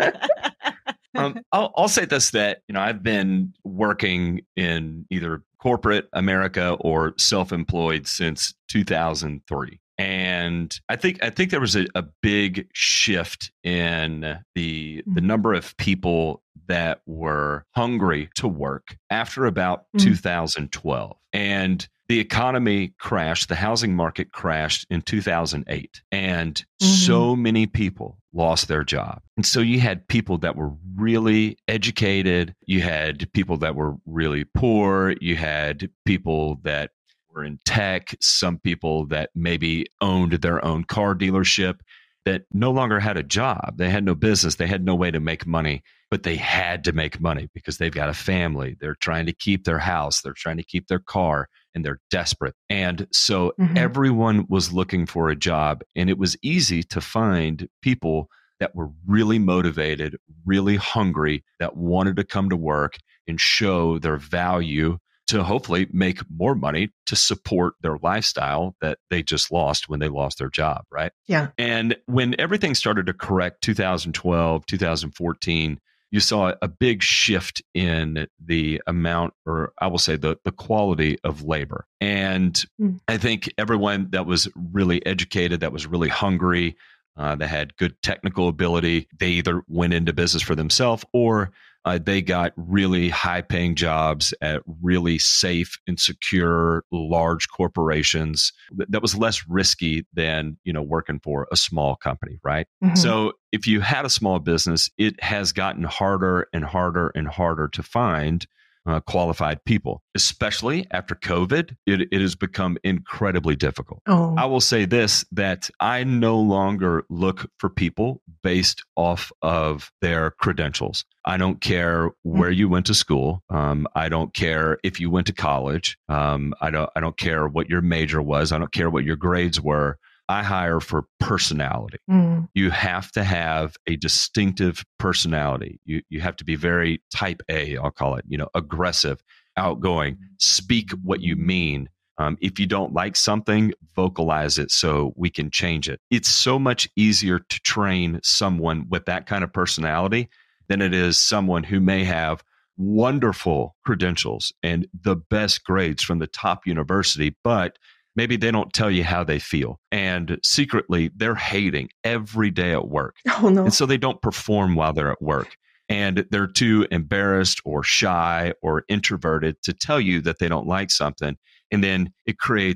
Um, I'll, I'll say this, that, you know, I've been working in either corporate America or self-employed since two thousand three. And I think I think there was a, a big shift in the the number of people that were hungry to work after about Mm. two thousand twelve. And the economy crashed, the housing market crashed in two thousand eight. And Mhm. so many people lost their job. And so you had people that were really educated, you had people that were really poor, you had people that were in tech, some people that maybe owned their own car dealership that no longer had a job. They had no business. They had no way to make money, but they had to make money because they've got a family. They're trying to keep their house. They're trying to keep their car, and they're desperate. And so Mhm. everyone was looking for a job, and it was easy to find people that were really motivated, really hungry, that wanted to come to work and show their value to hopefully make more money to support their lifestyle that they just lost when they lost their job, right? Yeah. And when everything started to correct, two thousand twelve, two thousand fourteen, you saw a big shift in the amount, or I will say the, the quality of labor. And Mm. I think everyone that was really educated, that was really hungry, uh, that had good technical ability, they either went into business for themselves or uh, they got really high paying jobs at really safe and secure large corporations that, that was less risky than, you know, working for a small company, right? Mhm. So if you had a small business, it has gotten harder and harder and harder to find uh, qualified people, especially after COVID. It, it has become incredibly difficult. Oh. I will say this, that I no longer look for people based off of their credentials. I don't care where you went to school. Um, I don't care if you went to college. Um, I don't. I don't care what your major was. I don't care what your grades were. I hire for personality. Mm. You have to have a distinctive personality. You you have to be very type A, I'll call it, you know, aggressive, outgoing, speak what you mean. Um, if you don't like something, vocalize it so we can change it. It's so much easier to train someone with that kind of personality than it is someone who may have wonderful credentials and the best grades from the top university, but maybe they don't tell you how they feel. And secretly, they're hating every day at work. Oh, no. And so they don't perform while they're at work. And they're too embarrassed or shy or introverted to tell you that they don't like something. And then it creates a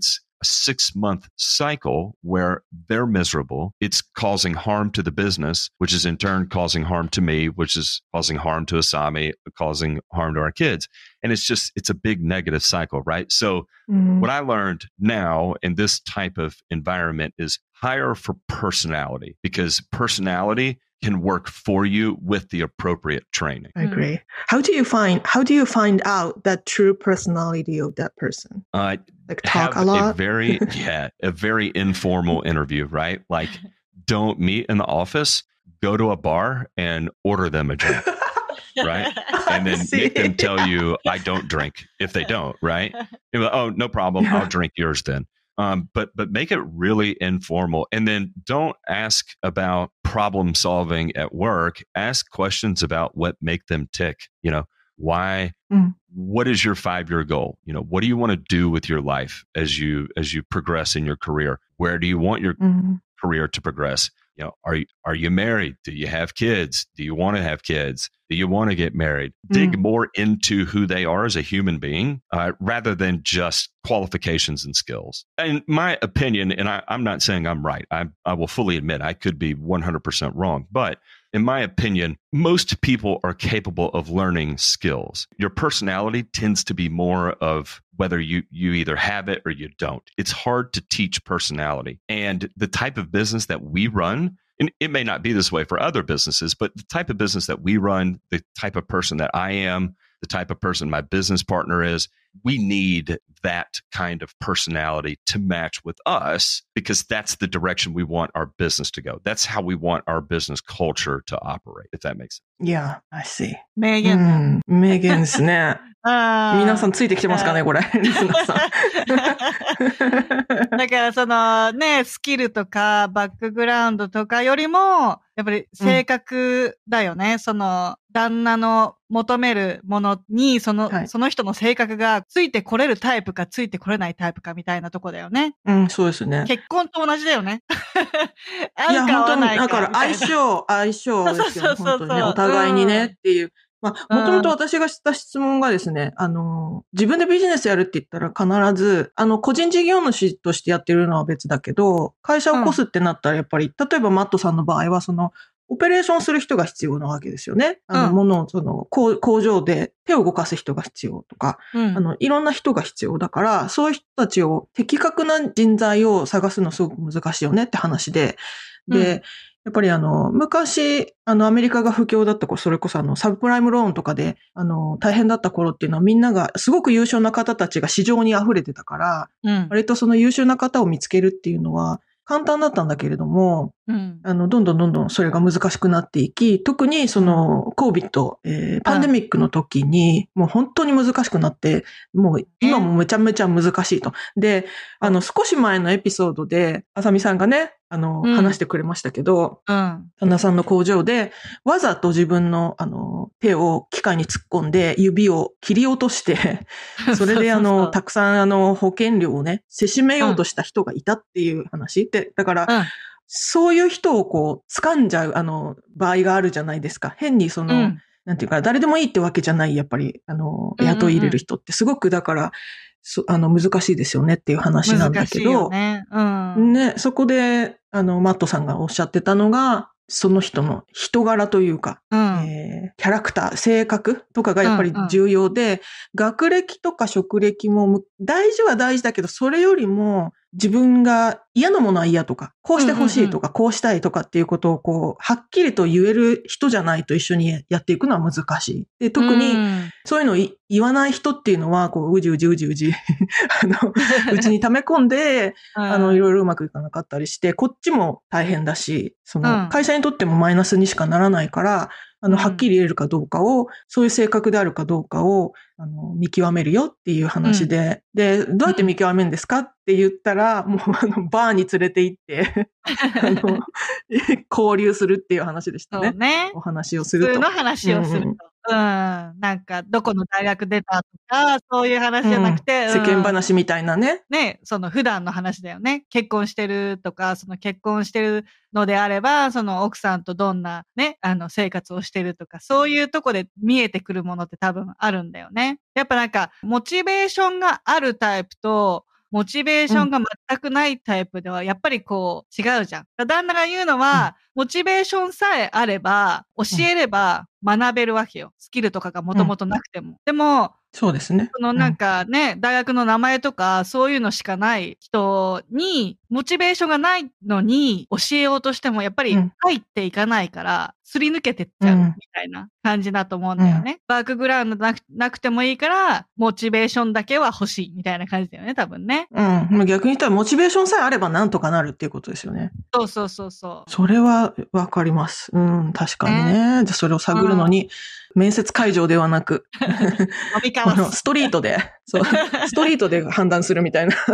six month cycle where they're miserable. It's causing harm to the business, which is in turn causing harm to me, which is causing harm to Asami, causing harm to our kids. And it's just, it's a big negative cycle, right? So mm-hmm. what I learned now in this type of environment is hire for personality, because personality can work for you with the appropriate training. I agree. How do you find how do you find out that true personality of that person? Uh, like talk a lot. A very yeah, a very informal interview, right? Like, don't meet in the office. Go to a bar and order them a drink, right? And then make them tell you, "I don't drink." If they don't, right? You're like, oh, no problem. Yeah. I'll drink yours then. Um, but but make it really informal, and then don't ask about problem solving at work. Ask questions about what make them tick. You know, why? Mm. What is your five-year goal? You know, what do you want to do with your life as you as you progress in your career? Where do you want your mm. career to progress? You know, are you are you married? Do you have kids? Do you want to have kids? Do you want to get married? Mm. Dig more into who they are as a human being, uh, rather than just qualifications and skills. In my opinion, and I, I'm not saying I'm right. I, I will fully admit I could be one hundred percent wrong. But in my opinion, most people are capable of learning skills. Your personality tends to be more of whether you, you either have it or you don't. It's hard to teach personality. And the type of business that we run, and it may not be this way for other businesses, but the type of business that we run, the type of person that I am, the type of person my business partner is, we need that kind of personality to match with us, because that's the direction we want our business to go. That's how we want our business culture to operate, if that makes sense. Yeah, I see. 名言。 うん、名言ですね。皆さんついてきてますかね、これ。リスナーさん。 だからそのね、スキルとかバックグラウンドとかよりも、やっぱり性格だよね。うん、その旦那の求めるものに、その、はい、その人の性格がついてこれるタイプかついてこれないタイプかみたいなとこだよね。 うん、そうですね。 結婚と同じだよね。 いや、本当に、だから相性、相性ですよね。本当にね。お互いにねっていう。まあ、もともと私がした質問がですね、あの、自分でビジネスやるって言ったら必ず、あの、個人事業主としてやってるのは別だけど、会社を起こすってなったらやっぱり、うん、例えばマットさんの場合は、その、オペレーションする人が必要なわけですよね。あの、ものを、その、工場で手を動かす人が必要とか、うん、あの、いろんな人が必要だから、そういう人たちを的確な人材を探すのすごく難しいよねって話で、で、うん、やっぱりあの、昔、あの、アメリカが不況だった頃、それこそあの、サブプライムローンとかで、あの、大変だった頃っていうのはみんなが、すごく優秀な方たちが市場に溢れてたから、うん、割とその優秀な方を見つけるっていうのは、簡単だったんだけれども、うん、あの、どんどんどんどんそれが難しくなっていき、特にその、コビッド、えー、パンデミックの時に、もう本当に難しくなって、もう今もめちゃめちゃ難しいと。で、あの、少し前のエピソードで、あさみさんがね、あの、うん、話してくれましたけど、うん、旦那さんの工場で、わざと自分の、あの、手を機械に突っ込んで、指を切り落として、それであの、そうそうそうたくさんあの、保険料をね、せしめようとした人がいたっていう話で、だから、うん、そういう人をこう、掴んじゃう、あの、場合があるじゃないですか。変にその、うん、なんていうか、誰でもいいってわけじゃない、やっぱり、あの、雇い入れる人ってすごく、だから、そあの、難しいですよねっていう話なんだけど、 ねうん、 ね、そこで、あの、マットさんがおっしゃってたのが、その人の人柄というか、うんえー、キャラクター、性格とかがやっぱり重要で、うんうん、学歴とか職歴も大事は大事だけど、それよりも自分が嫌なものは嫌とか、こうしてほしいとか、うんうんうん、こうしたいとかっていうことをこう、はっきりと言える人じゃないと一緒にやっていくのは難しい。で、特にそういうのを言わない人っていうのは、こう、うじうじうじうじ、あの、うちに溜め込んで、あの、いろいろうまくいかなかったりして、こっちも大変だし、その、会社にとってもマイナスにしかならないから、あの、はっきり言えるかどうかを、そういう性格であるかどうかを、あの、見極めるよっていう話で、うん、で、どうやって見極めるんですかって言ったら、もう、あの、バーに連れて行って、あの、交流するっていう話でしたね。 そうね。 お話をすると。 普通の話をすると。うんうんうん。なんか、どこの大学出たとか、そういう話じゃなくて、 うん、世間話みたいなね。 ね、その普段の話だよね。結婚してるとか、その結婚してるのであれば、その奥さんとどんなね、あの生活をしてるとか、そういうとこで見えてくるものって多分あるんだよね。やっぱなんか、モチベーションがあるタイプと、 モチベーションが全くないタイプでは、やっぱりこう、違うじゃん。旦那が言うのは、うん、モチベーションさえあれば、教えれば学べるわけよ。スキルとかがもともとなくても。うん、でも、 そうですね。 そのなんかね、うん、大学の名前とかそういうのしかない人に、モチベーションがないのに教えようとしてもやっぱり入っていかないから、すり抜けてっちゃうみたいな感じだと思うんだよね。うん、バックグラウンドなく、なくてもいいから、モチベーションだけは欲しいみたいな感じだよね、多分ね。 うん。逆に言ったらモチベーションさえあればなんとかなるっていうことですよね。 そうそうそうそう。 それはわかります。うん、確かにね。ね、じゃそれを探るのに、うん、面接会場ではなく、このストリートで、そう、ストリートで判断するみたいな。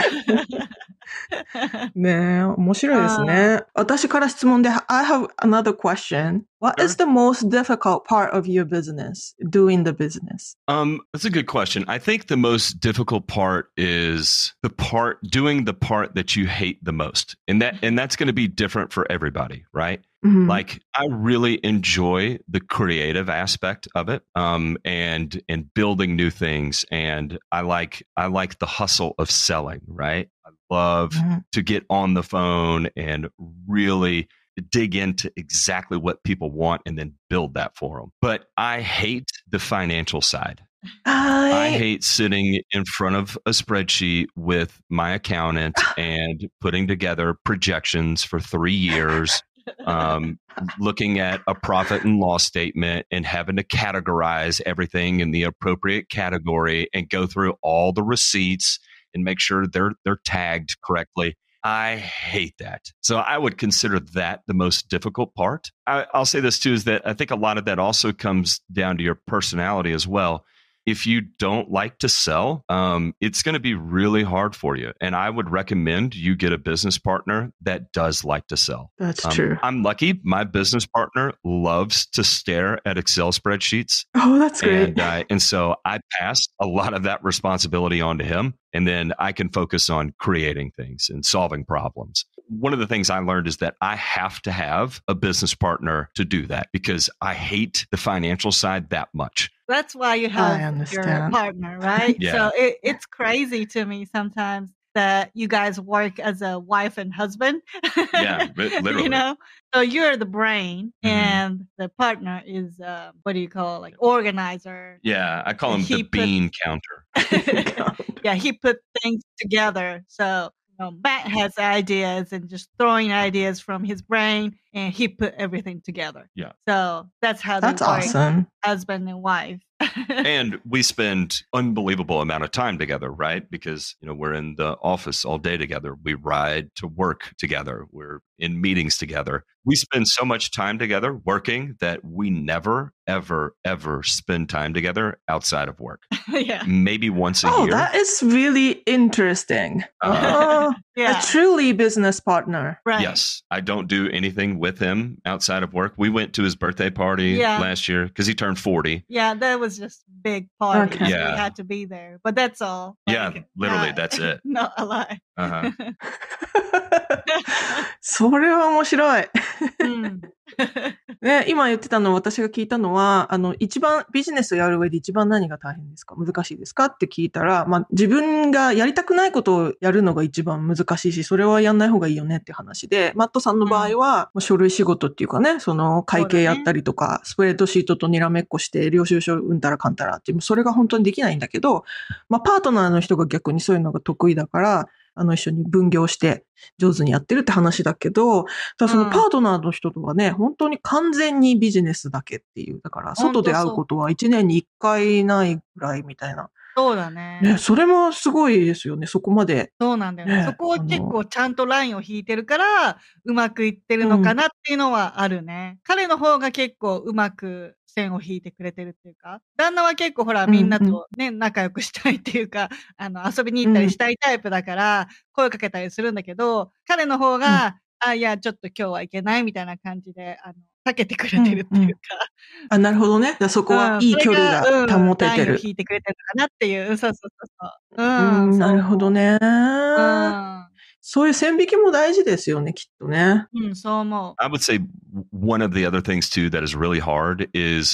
ねえ、面白いですね。私から質問で、I have another question. What is the most difficult part of your business, doing the business? Um, that's a good question. I think the most difficult part is the part, doing the part that you hate the most. And that, and that's going to be different for everybody, right? Mm-hmm. Like, I really enjoy the creative aspect of it, um, and, and building new things. And I like, I like the hustle of selling, right? I love mm-hmm. to get on the phone and really dig into exactly what people want and then build that for them. But I hate the financial side. I, I hate sitting in front of a spreadsheet with my accountant and putting together projections for three years, um, looking at a profit and loss statement and having to categorize everything in the appropriate category and go through all the receipts and make sure they're they're tagged correctly. I hate that. So I would consider that the most difficult part. I, I'll say this too, is that I think a lot of that also comes down to your personality as well. If you don't like to sell, um, it's going to be really hard for you. And I would recommend you get a business partner that does like to sell. That's um, true. I'm lucky. My business partner loves to stare at Excel spreadsheets. Oh, that's great. And, uh, and so I pass a lot of that responsibility on to him. And then I can focus on creating things and solving problems. One of the things I learned is that I have to have a business partner to do that because I hate the financial side that much. That's why you have your partner, right? Yeah. So it, it's crazy to me sometimes that you guys work as a wife and husband. Yeah, literally. You know, so you're the brain, mm-hmm. and the partner is uh, what do you call it? Like organizer? Yeah, I call him the put, bean counter. Yeah, he put things together. So you know, Matt has ideas and just throwing ideas from his brain, and he put everything together. Yeah. So that's how that's they work, awesome. Husband and wife. And we spend unbelievable amount of time together, right? Because, you know, we're in the office all day together. We ride to work together. We're in meetings together. We spend so much time together working that we never, ever, ever spend time together outside of work. Yeah. Maybe once a oh, year. Oh, that is really interesting. Uh, yeah. A truly business partner. Right. Yes. I don't do anything with him outside of work. We went to his birthday party yeah. last year because he turned forty. Yeah, that was just a big party. Okay. Yeah. We had to be there. But that's all. Yeah, like, literally, uh, that's it. Not a lie. Uh-huh. それは面白い。 うんね、今言ってたの、私が聞いたのは、あの、一番、ビジネスをやる上で一番何が大変ですか？難しいですかって聞いたら、まあ、自分がやりたくないことをやるのが一番難しいし、それはやんない方がいいよねって話で、マットさんの場合は、うん、書類仕事っていうかね、その会計やったりとか、ね、スプレッドシートとにらめっこして、領収書うんたらかんたらっていう、それが本当にできないんだけど、まあ、パートナーの人が逆にそういうのが得意だから、あの一緒に分業して上手にやってるって話だけど、ただそのパートナーの人とはね、うん、本当に完全にビジネスだけっていう。だから外で会うことはいちねんにいっかいないぐらいみたいな。 そうだね。 ね、それもすごいですよね、そこまで。 そうなんだよね。ねそこを結構ちゃんとラインを引いてるから、うまくいってるのかなっていうのはあるね。うん、彼の方が結構うまく線を引いてくれてるっていうか、旦那は結構ほらみんなとね、うんうん、仲良くしたいっていうか、あの遊びに行ったりしたいタイプだから、声かけたりするんだけど、彼の方が、うん、あ、いや、ちょっと今日はいけないみたいな感じで、あの、避けてくれてるっていうか。うんうん、 あ、なるほどね。そこはいい距離が保ててる。 うん、引いてくれてるのかなっていう。そうそうそうそう。 うん、うん、なるほどね。 うん。 そういう線引きも大事ですよね、きっとね。 うん、そう思う。 I would say one of the other things too that is really hard is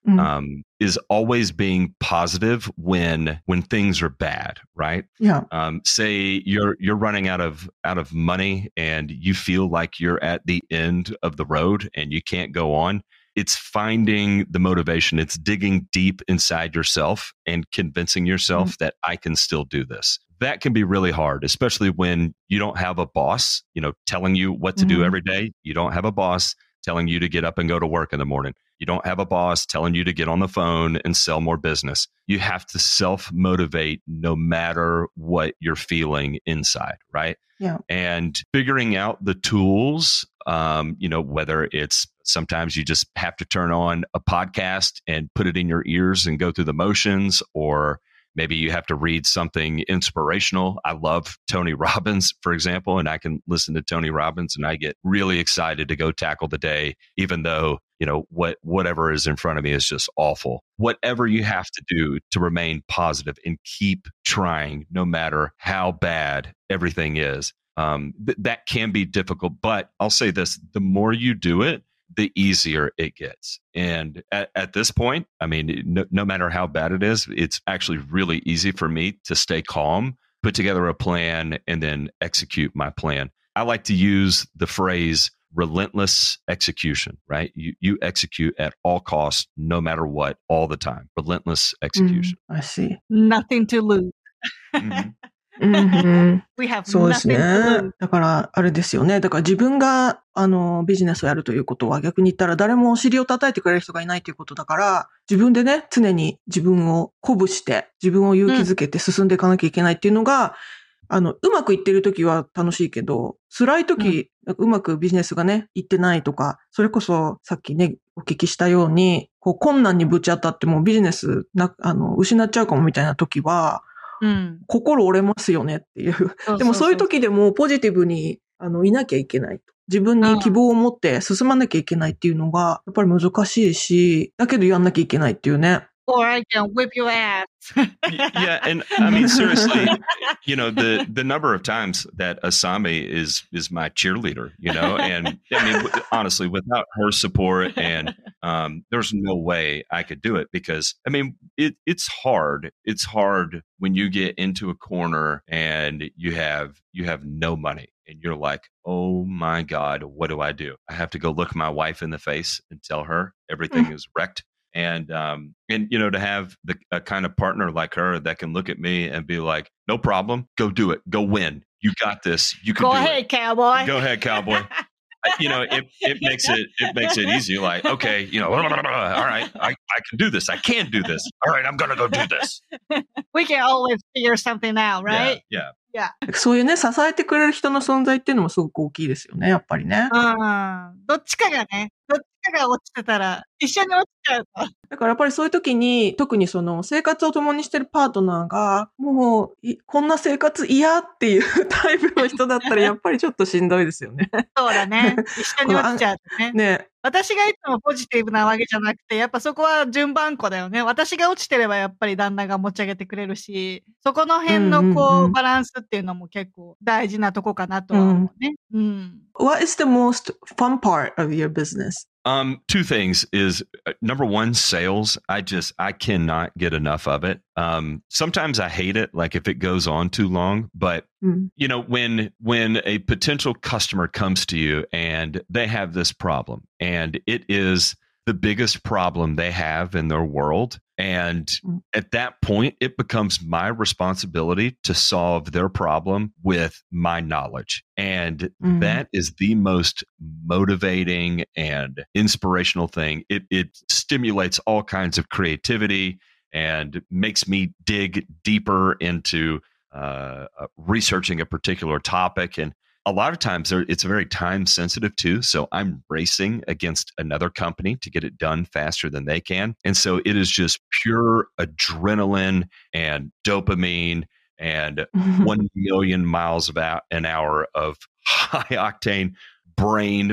Mm. um, is always being positive when when things are bad, right? Yeah. Um, say you're you're running out of out of money and you feel like you're at the end of the road and you can't go on. It's finding the motivation. It's digging deep inside yourself and convincing yourself mm. that I can still do this. That can be really hard, especially when you don't have a boss, you know, telling you what to mm. do every day. You don't have a boss telling you to get up and go to work in the morning. You don't have a boss telling you to get on the phone and sell more business. You have to self-motivate no matter what you're feeling inside, right? Yeah. And figuring out the tools, um, you know, whether it's sometimes you just have to turn on a podcast and put it in your ears and go through the motions, or maybe you have to read something inspirational. I love Tony Robbins, for example, and I can listen to Tony Robbins and I get really excited to go tackle the day, even though, you know, what whatever is in front of me is just awful. Whatever you have to do to remain positive and keep trying, no matter how bad everything is. Um, th- that can be difficult, but I'll say this, the more you do it, the easier it gets. And at, at this point, I mean, no, no matter how bad it is, it's actually really easy for me to stay calm, put together a plan, and then execute my plan. I like to use the phrase relentless execution, right? You you execute at all costs, no matter what, all the time. Relentless execution. Mm, I see. Nothing to lose. Mm-hmm. Mm-hmm. We have そうですね nothing to lose.。 だから、あれですよね。だから自分が、あの、ビジネスをやるということは逆に言ったら誰もお尻を叩いてくれる人がいないということだから、自分でね、常に自分を鼓舞して、自分を勇気づけて進んでいかなきゃいけないっていうのが、うん、あの、うまくいってるときは楽しいけど、辛いとき、うん、うまくビジネスがね、いってないとか、それこそさっきね、お聞きしたように、こう困難にぶち当たってもビジネスな、あの、失っちゃうかもみたいなときは、うん、心折れますよねっていう。そうそうそう。でもそういう時でもポジティブにあのいなきゃいけないと。自分に希望を持って進まなきゃいけないっていうのがやっぱり難しいし、だけどやんなきゃいけないっていうね。 Or I can whip your ass. Yeah, and I mean seriously, you know, the the number of times that Asami is is my cheerleader, you know, and I mean honestly, without her support, and um, there's no way I could do it because I mean it it's hard. It's hard when you get into a corner and you have you have no money. And you're like, oh my God, what do I do? I have to go look my wife in the face and tell her everything mm. is wrecked. And, um, and, you know, to have the, a kind of partner like her that can look at me and be like, no problem, go do it, go win. You got this. You can go do ahead, it. cowboy. Go ahead, cowboy. You know, it, it makes it, it makes it easy. Like, okay, you know, all right, I, I can do this. I can do this. All right, I'm going to go do this. We can always figure something out, right? Yeah. Yeah. そういうね、支えてくれる人の存在っていうのもすごく大きいですよね、やっぱりね。 うん。どっちかがね、どっちかが落ちてたら、一緒に落ちちゃうと。 だからやっぱりそういう時に、特にその生活を共にしてるパートナーが、もう、こんな生活嫌っていうタイプの人だったら、やっぱりちょっとしんどいですよね。 そうだね。一緒に落ちちゃうとね。 ね。 私がいつもポジティブなわけじゃなくて、やっぱそこは順番こだよね。私が落ちてればやっぱり旦那が持ち上げてくれるし、そこの辺のこう、うんうんうん、バランスっていうのも結構大事なとこかなとは思うね。うん。うん、 What is the most fun part of your business? Um, two things is uh, number one, sales. I just, I cannot get enough of it. Um, sometimes I hate it, like if it goes on too long, but mm. you know, when, when a potential customer comes to you and they have this problem and it is the biggest problem they have in their world. And mm. at that point, it becomes my responsibility to solve their problem with my knowledge. And mm. that is the most motivating and inspirational thing. It, it stimulates all kinds of creativity and makes me dig deeper into uh, uh, researching a particular topic. And a lot of times it's very time sensitive too. So I'm racing against another company to get it done faster than they can. And so it is just pure adrenaline and dopamine and mm-hmm. one million miles about an hour of high octane brain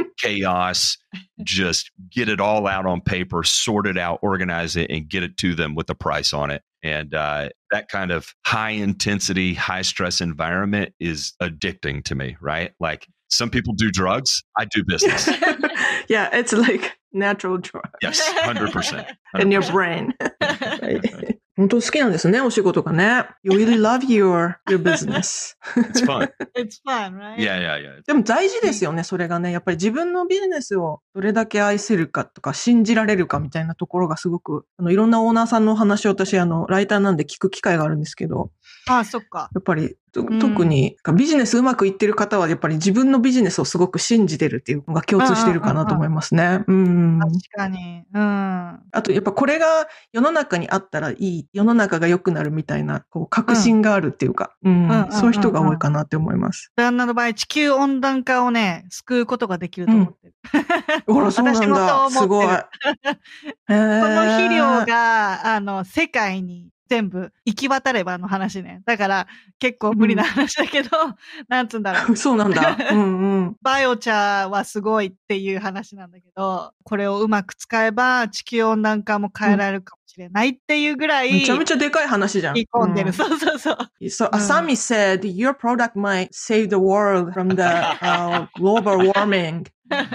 chaos. Just get it all out on paper, sort it out, organize it, and get it to them with a price on it. And uh, that kind of high intensity, high stress environment is addicting to me, right? Like some people do drugs, I do business. Yeah, it's like natural drugs. Yes, one hundred percent. In your brain. 本当好きなんですね、お仕事がね。You really love your, your business. It's fun. It's fun, right? Yeah, yeah, yeah. でも大事ですよね、それがね。やっぱり自分のビジネスをどれだけ愛せるかとか信じられるかみたいなところがすごく、あの、いろんなオーナーさんのお話を私、あの、ライターなんで聞く機会があるんですけど。 ああ、そっか。 やっぱり、特にビジネスうまくいってる方はやっぱり自分のビジネスをすごく信じてるっていうのが共通してるかなと思いますね。うん。 確かに。うん。あとやっぱこれが世の中にあったらいい、世の中が良くなるみたいなこう確信があるっていうか、うんうん、そういう人が多いかなって思います。 旦那の場合、地球温暖化をね、救うことができると思ってる。 うん、ほら、そうなんだ。すごい。この肥料が、あの、世界に全部行き渡ればの話ね。だから結構無理な話だけど、うん、なんつうんだろう。 そうなんだ。うんうん。 バイオ茶はすごいっていう話なんだけど、これをうまく使えば地球温暖化も変えられるかもしれないっていうぐらい、 うん、めちゃめちゃでかい話じゃん。 言い込んでる。うん、そうそうそう。 So, Asami said, your product might save the world from the uh, global warming.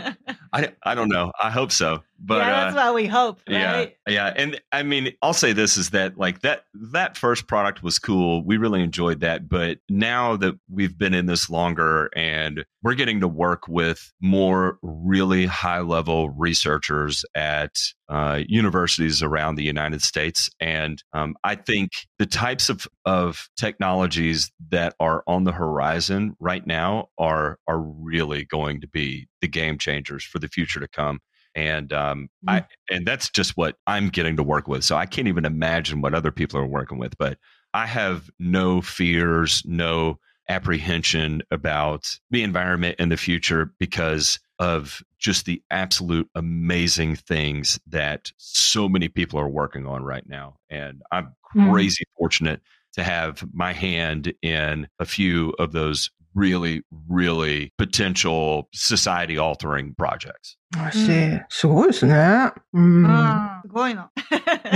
I, I don't know. I hope so. But yeah, that's uh, what we hope, right? Yeah, yeah. And I mean, I'll say this is that like that that first product was cool. We really enjoyed that. But now that we've been in this longer and we're getting to work with more really high level researchers at uh, universities around the United States. And um, I think the types of, of technologies that are on the horizon right now are are really going to be the game changers for the future to come. And um, mm. I and that's just what I'm getting to work with. So I can't even imagine what other people are working with. But I have no fears, no apprehension about the environment in the future because of just the absolute amazing things that so many people are working on right now. And I'm crazy mm. fortunate to have my hand in a few of those really, really potential society altering projects. I see. すごいですね。うん。 すごいの。 うん。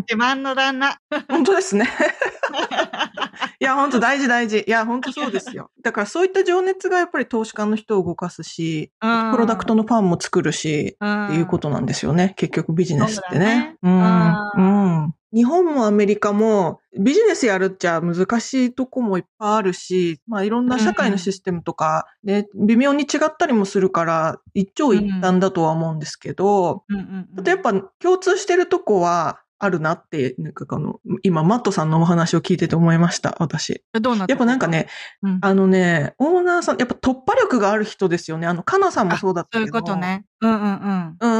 自慢の旦那。 本当ですね。いや、本当大事大事。いや、本当そうですよ。だからそういった情熱がやっぱり投資家の人を動かすし、プロダクトのファンも作るし、っていうことなんですよね。結局ビジネスってね。うん。うん。日本もアメリカもビジネスやるっちゃ難しいとこもいっぱいあるし、まあいろんな社会のシステムとかね、微妙に違ったりもするから一長一短だとは思うんですけど、あとやっぱ共通してるとこはあるなって、なんかあの、今マットさんのお話を聞いてて思いました、私。 どうなった？ やっぱなんかね、うん、あのね、オーナーさん、やっぱ突破力がある人ですよね。あの、カナさんもそうだったけど。 そういうことね。うんうんうん。 うん。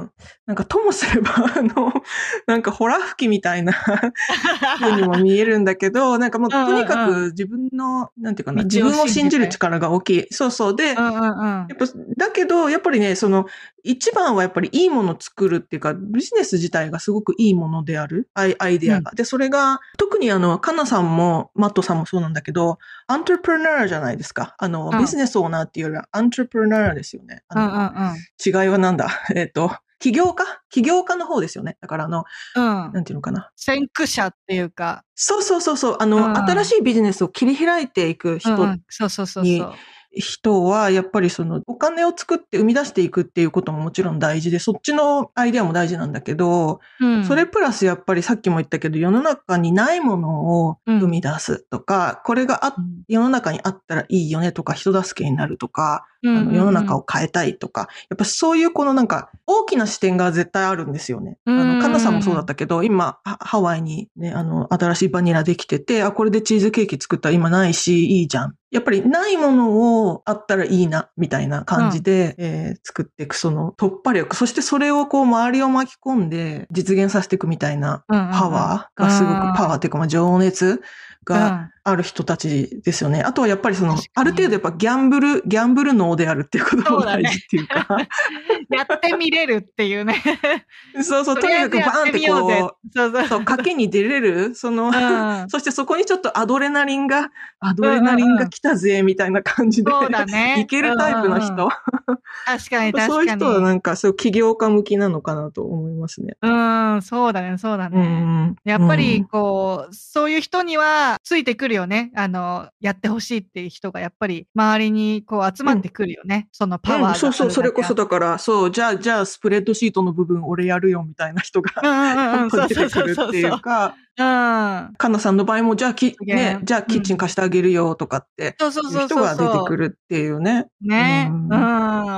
なんかともすれば、あの、なんかホラ吹きみたいな風にも見えるんだけど、なんかもうとにかく自分の、なんていうかな、自分を信じる力が大きい。そうそう。で、 うんうんうん、 やっぱ、だけど、やっぱりね、その、一番はやっぱりいいものを作るっていうか、ビジネス自体がすごくいいものである。アイ、アイデアが。うん、で、それが、特にあの、カナさんも、マットさんもそうなんだけど、アントレプレナーじゃないですか。あの、うん、ビジネスオーナーっていうよりは、アントレプレナーですよね。あの、 うんうんうん、 違いはなんだえっと、起業家起業家の方ですよね。だからあの、 うん、 なんていうのかな。 先駆者っていうか。 そうそうそうそう。あの、うん、新しいビジネスを切り開いていく人に、うん、 そうそうそうそう。 人は、やっぱりその、お金を作って生み出していくっていうことももちろん大事で、そっちのアイデアも大事なんだけど、うん、それプラスやっぱりさっきも言ったけど、世の中にないものを生み出すとか、うん、これがあ、世の中にあったらいいよねとか、人助けになるとか、あの世の中を変えたいとか、やっぱそういうこのなんか、大きな視点が絶対あるんですよね。あの、カナさんもそうだったけど、今、ハワイにね、あの、新しいバニラできてて、あ、これでチーズケーキ作ったら今ないし、いいじゃん。やっぱりないものをあったらいいな、みたいな感じで、うんえー、作っていくその突破力、そしてそれをこう周りを巻き込んで実現させていくみたいなパワーがすごく、うんうんうん、パワーっていうかまあ情熱がある人たちですよね。あとはやっぱりその、ある程度やっぱギャンブル、ギャンブル脳であるっていうことも大事っていうか。うね、 やってみれるっていうね。 そうそう、とにかくバーンってこう、 そうそうそう、賭けに出れる、その、うん、そしてそこにちょっとアドレナリンが、アドレナリンが来たぜ、みたいな感じで、 そうだね、 いけるタイプの人。うんうん確かに確かに。 そういう人はなんかそう起業家向きなのかなと思いますね。 うん、そうだね、そうだね。 うん、 やっぱりこう、そういう人にはついてくるよね。あの、やってほしいっていう人がやっぱり周りにこう集まってくるよね。うん、そのパワーがあるだけ。 うん、そうそう、それこそだから、そう、じゃあ、じゃあスプレッドシートの部分俺やるよみたいな人が、 うんうんうん、 出てくるっていうか、うん。かなさんの場合も、じゃあき、ね、じゃあキッチン貸してあげるよとかって、そうそうそう。人が出てくるっていうね。 ね、うん、うん、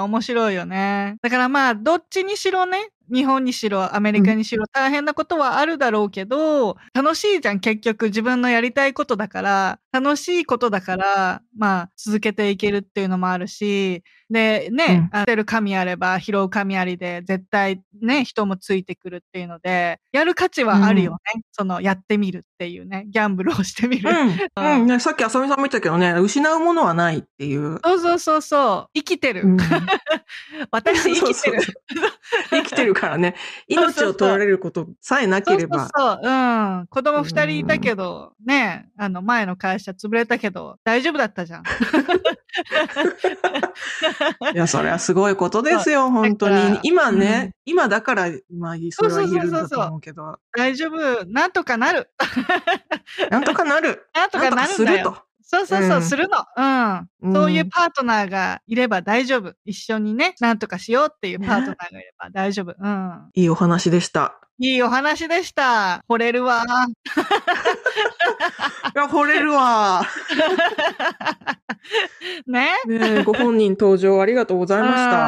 面白いよね。だからまあ、どっちにしろね、日本にしろアメリカにしろ大変なことはあるだろうけど、うん、楽しいじゃん、結局自分のやりたいことだから、楽しいことだから、まあ、続けていけるっていうのもあるし、で、ね、当てる神あれば拾う神ありで、絶対ね、人もついてくるっていうので、やる価値はあるよね。うん、その、やってみるっていうね、ギャンブルをしてみる。 うん。うん、ね、さっきあさみさんも言ったけどね、失うものはないっていう。 そうそうそうそう。生きてる。うん、私生きてる。 そうそうそう生きてるからね。命を取られることさえなければ。 そうそうそう。うん。子供二人いたけど、うん、ね、あの、前の会社潰れたけど、大丈夫だったじゃん。 いや、それはすごいことですよ、本当に。今ね、うん、今だから、まあ、それは言えるんだと思うけど。そうそうそうそう大丈夫。なんとかなる。 なんとかなる。 なんとかなるんだよ。すると。そうそうそう、うん、するの。うん。そういうパートナーがいれば大丈夫。一緒にね、なんとかしようっていうパートナーがいれば大丈夫。うん。 いいお話でした。 いいお話でした。惚れるわ。 いや、惚れるわ。 ねねご本人登場ありがとうございました。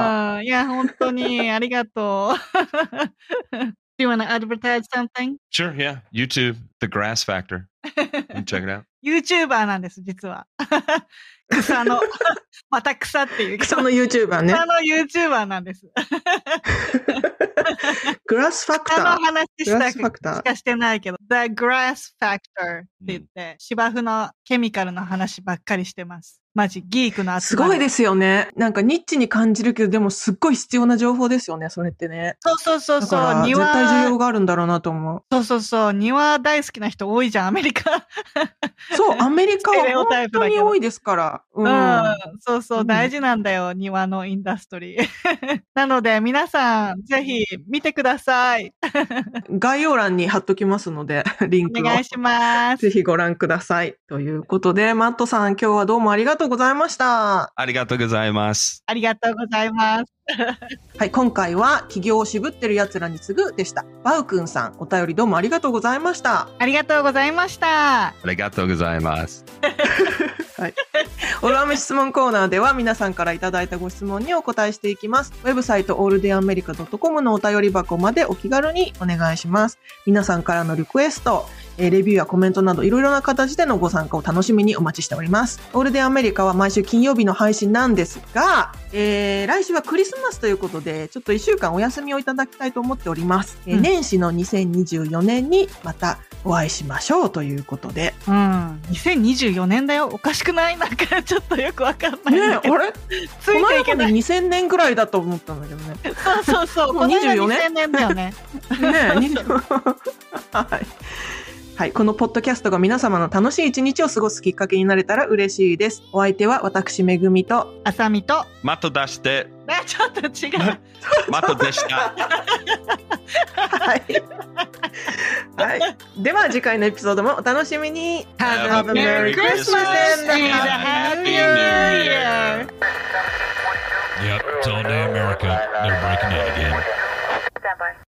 いや、本当にありがとう。Do you want to advertise something? Sure, yeah. YouTube, The Grass Factor. You check it out. YouTuber なんです、実は。草の、また草っていう。 草の YouTuber ね。 草の YouTuber なんです。 グラスファクター。 草の話したくしかしてないけど、The Grass Factor って言って、芝生のケミカルの話ばっかりしてます。マジ、ギークの集まり。 すごいですよね。なんかニッチに感じるけど、でもすっごい必要な情報ですよね、それってね。 そうそうそうそう。 だから絶対需要があるんだろうなと思う。 そうそうそう。庭大好きな人多いじゃん、アメリカ。 そう、アメリカは本当に多いですから。 うん。うん、そうそう、大事なんだよ、うん、庭のインダストリー。なので、皆さん、ぜひ見てください。 概要欄に貼っときますので、リンクを。 お願いします。 ぜひご覧ください。ということで、マットさん、今日はどうもありがとうございました。 ありがとうございます。 ありがとうございます。 はい、今回は起業を渋ってる奴らに次ぐでした。バウくんさん、お便りどうもありがとうございました。 ありがとうございました。 ありがとうございます。 はい。オルアメ質問コーナーでは皆さんからいただいたご質問にお答えしていきます。ウェブサイトオールデンアメリカドットコムのお便り箱までお気軽にお願いします。皆さんからのリクエスト、レビューやコメントなどいろいろな形でのご参加を楽しみにお待ちしております。オールデンアメリカは毎週金曜日の配信なんですが、えー、来週はクリスマスということで、ちょっといっしゅうかんお休みをいただきたいと思っております。うん、えー、年始のにせんにじゅうよねんにまたお会いしましょうということで。 うん。にせんにじゅうよねんだよ。おかしくない？なんかちょっとよくわかんないんだけど。 ねえ、あれついていけない。この間までにせんねんぐらいだと思ったんだけどね。 そうそうそう。もうにじゅうよねん。にせんねんだよね。ねえ、にじゅうはい。はい。このポッドキャストが皆様の楽しい一日を過ごすきっかけになれたら嬉しいです。お相手は私、めぐみと、 あさみと、 マット出して。 ね、ちょっと違う。 マットでした。 はい。はい。では次回のエピソードもお楽しみに。 Have a Merry Christmas and a Happy New Year! Yep, it's all day America. They're breaking out again.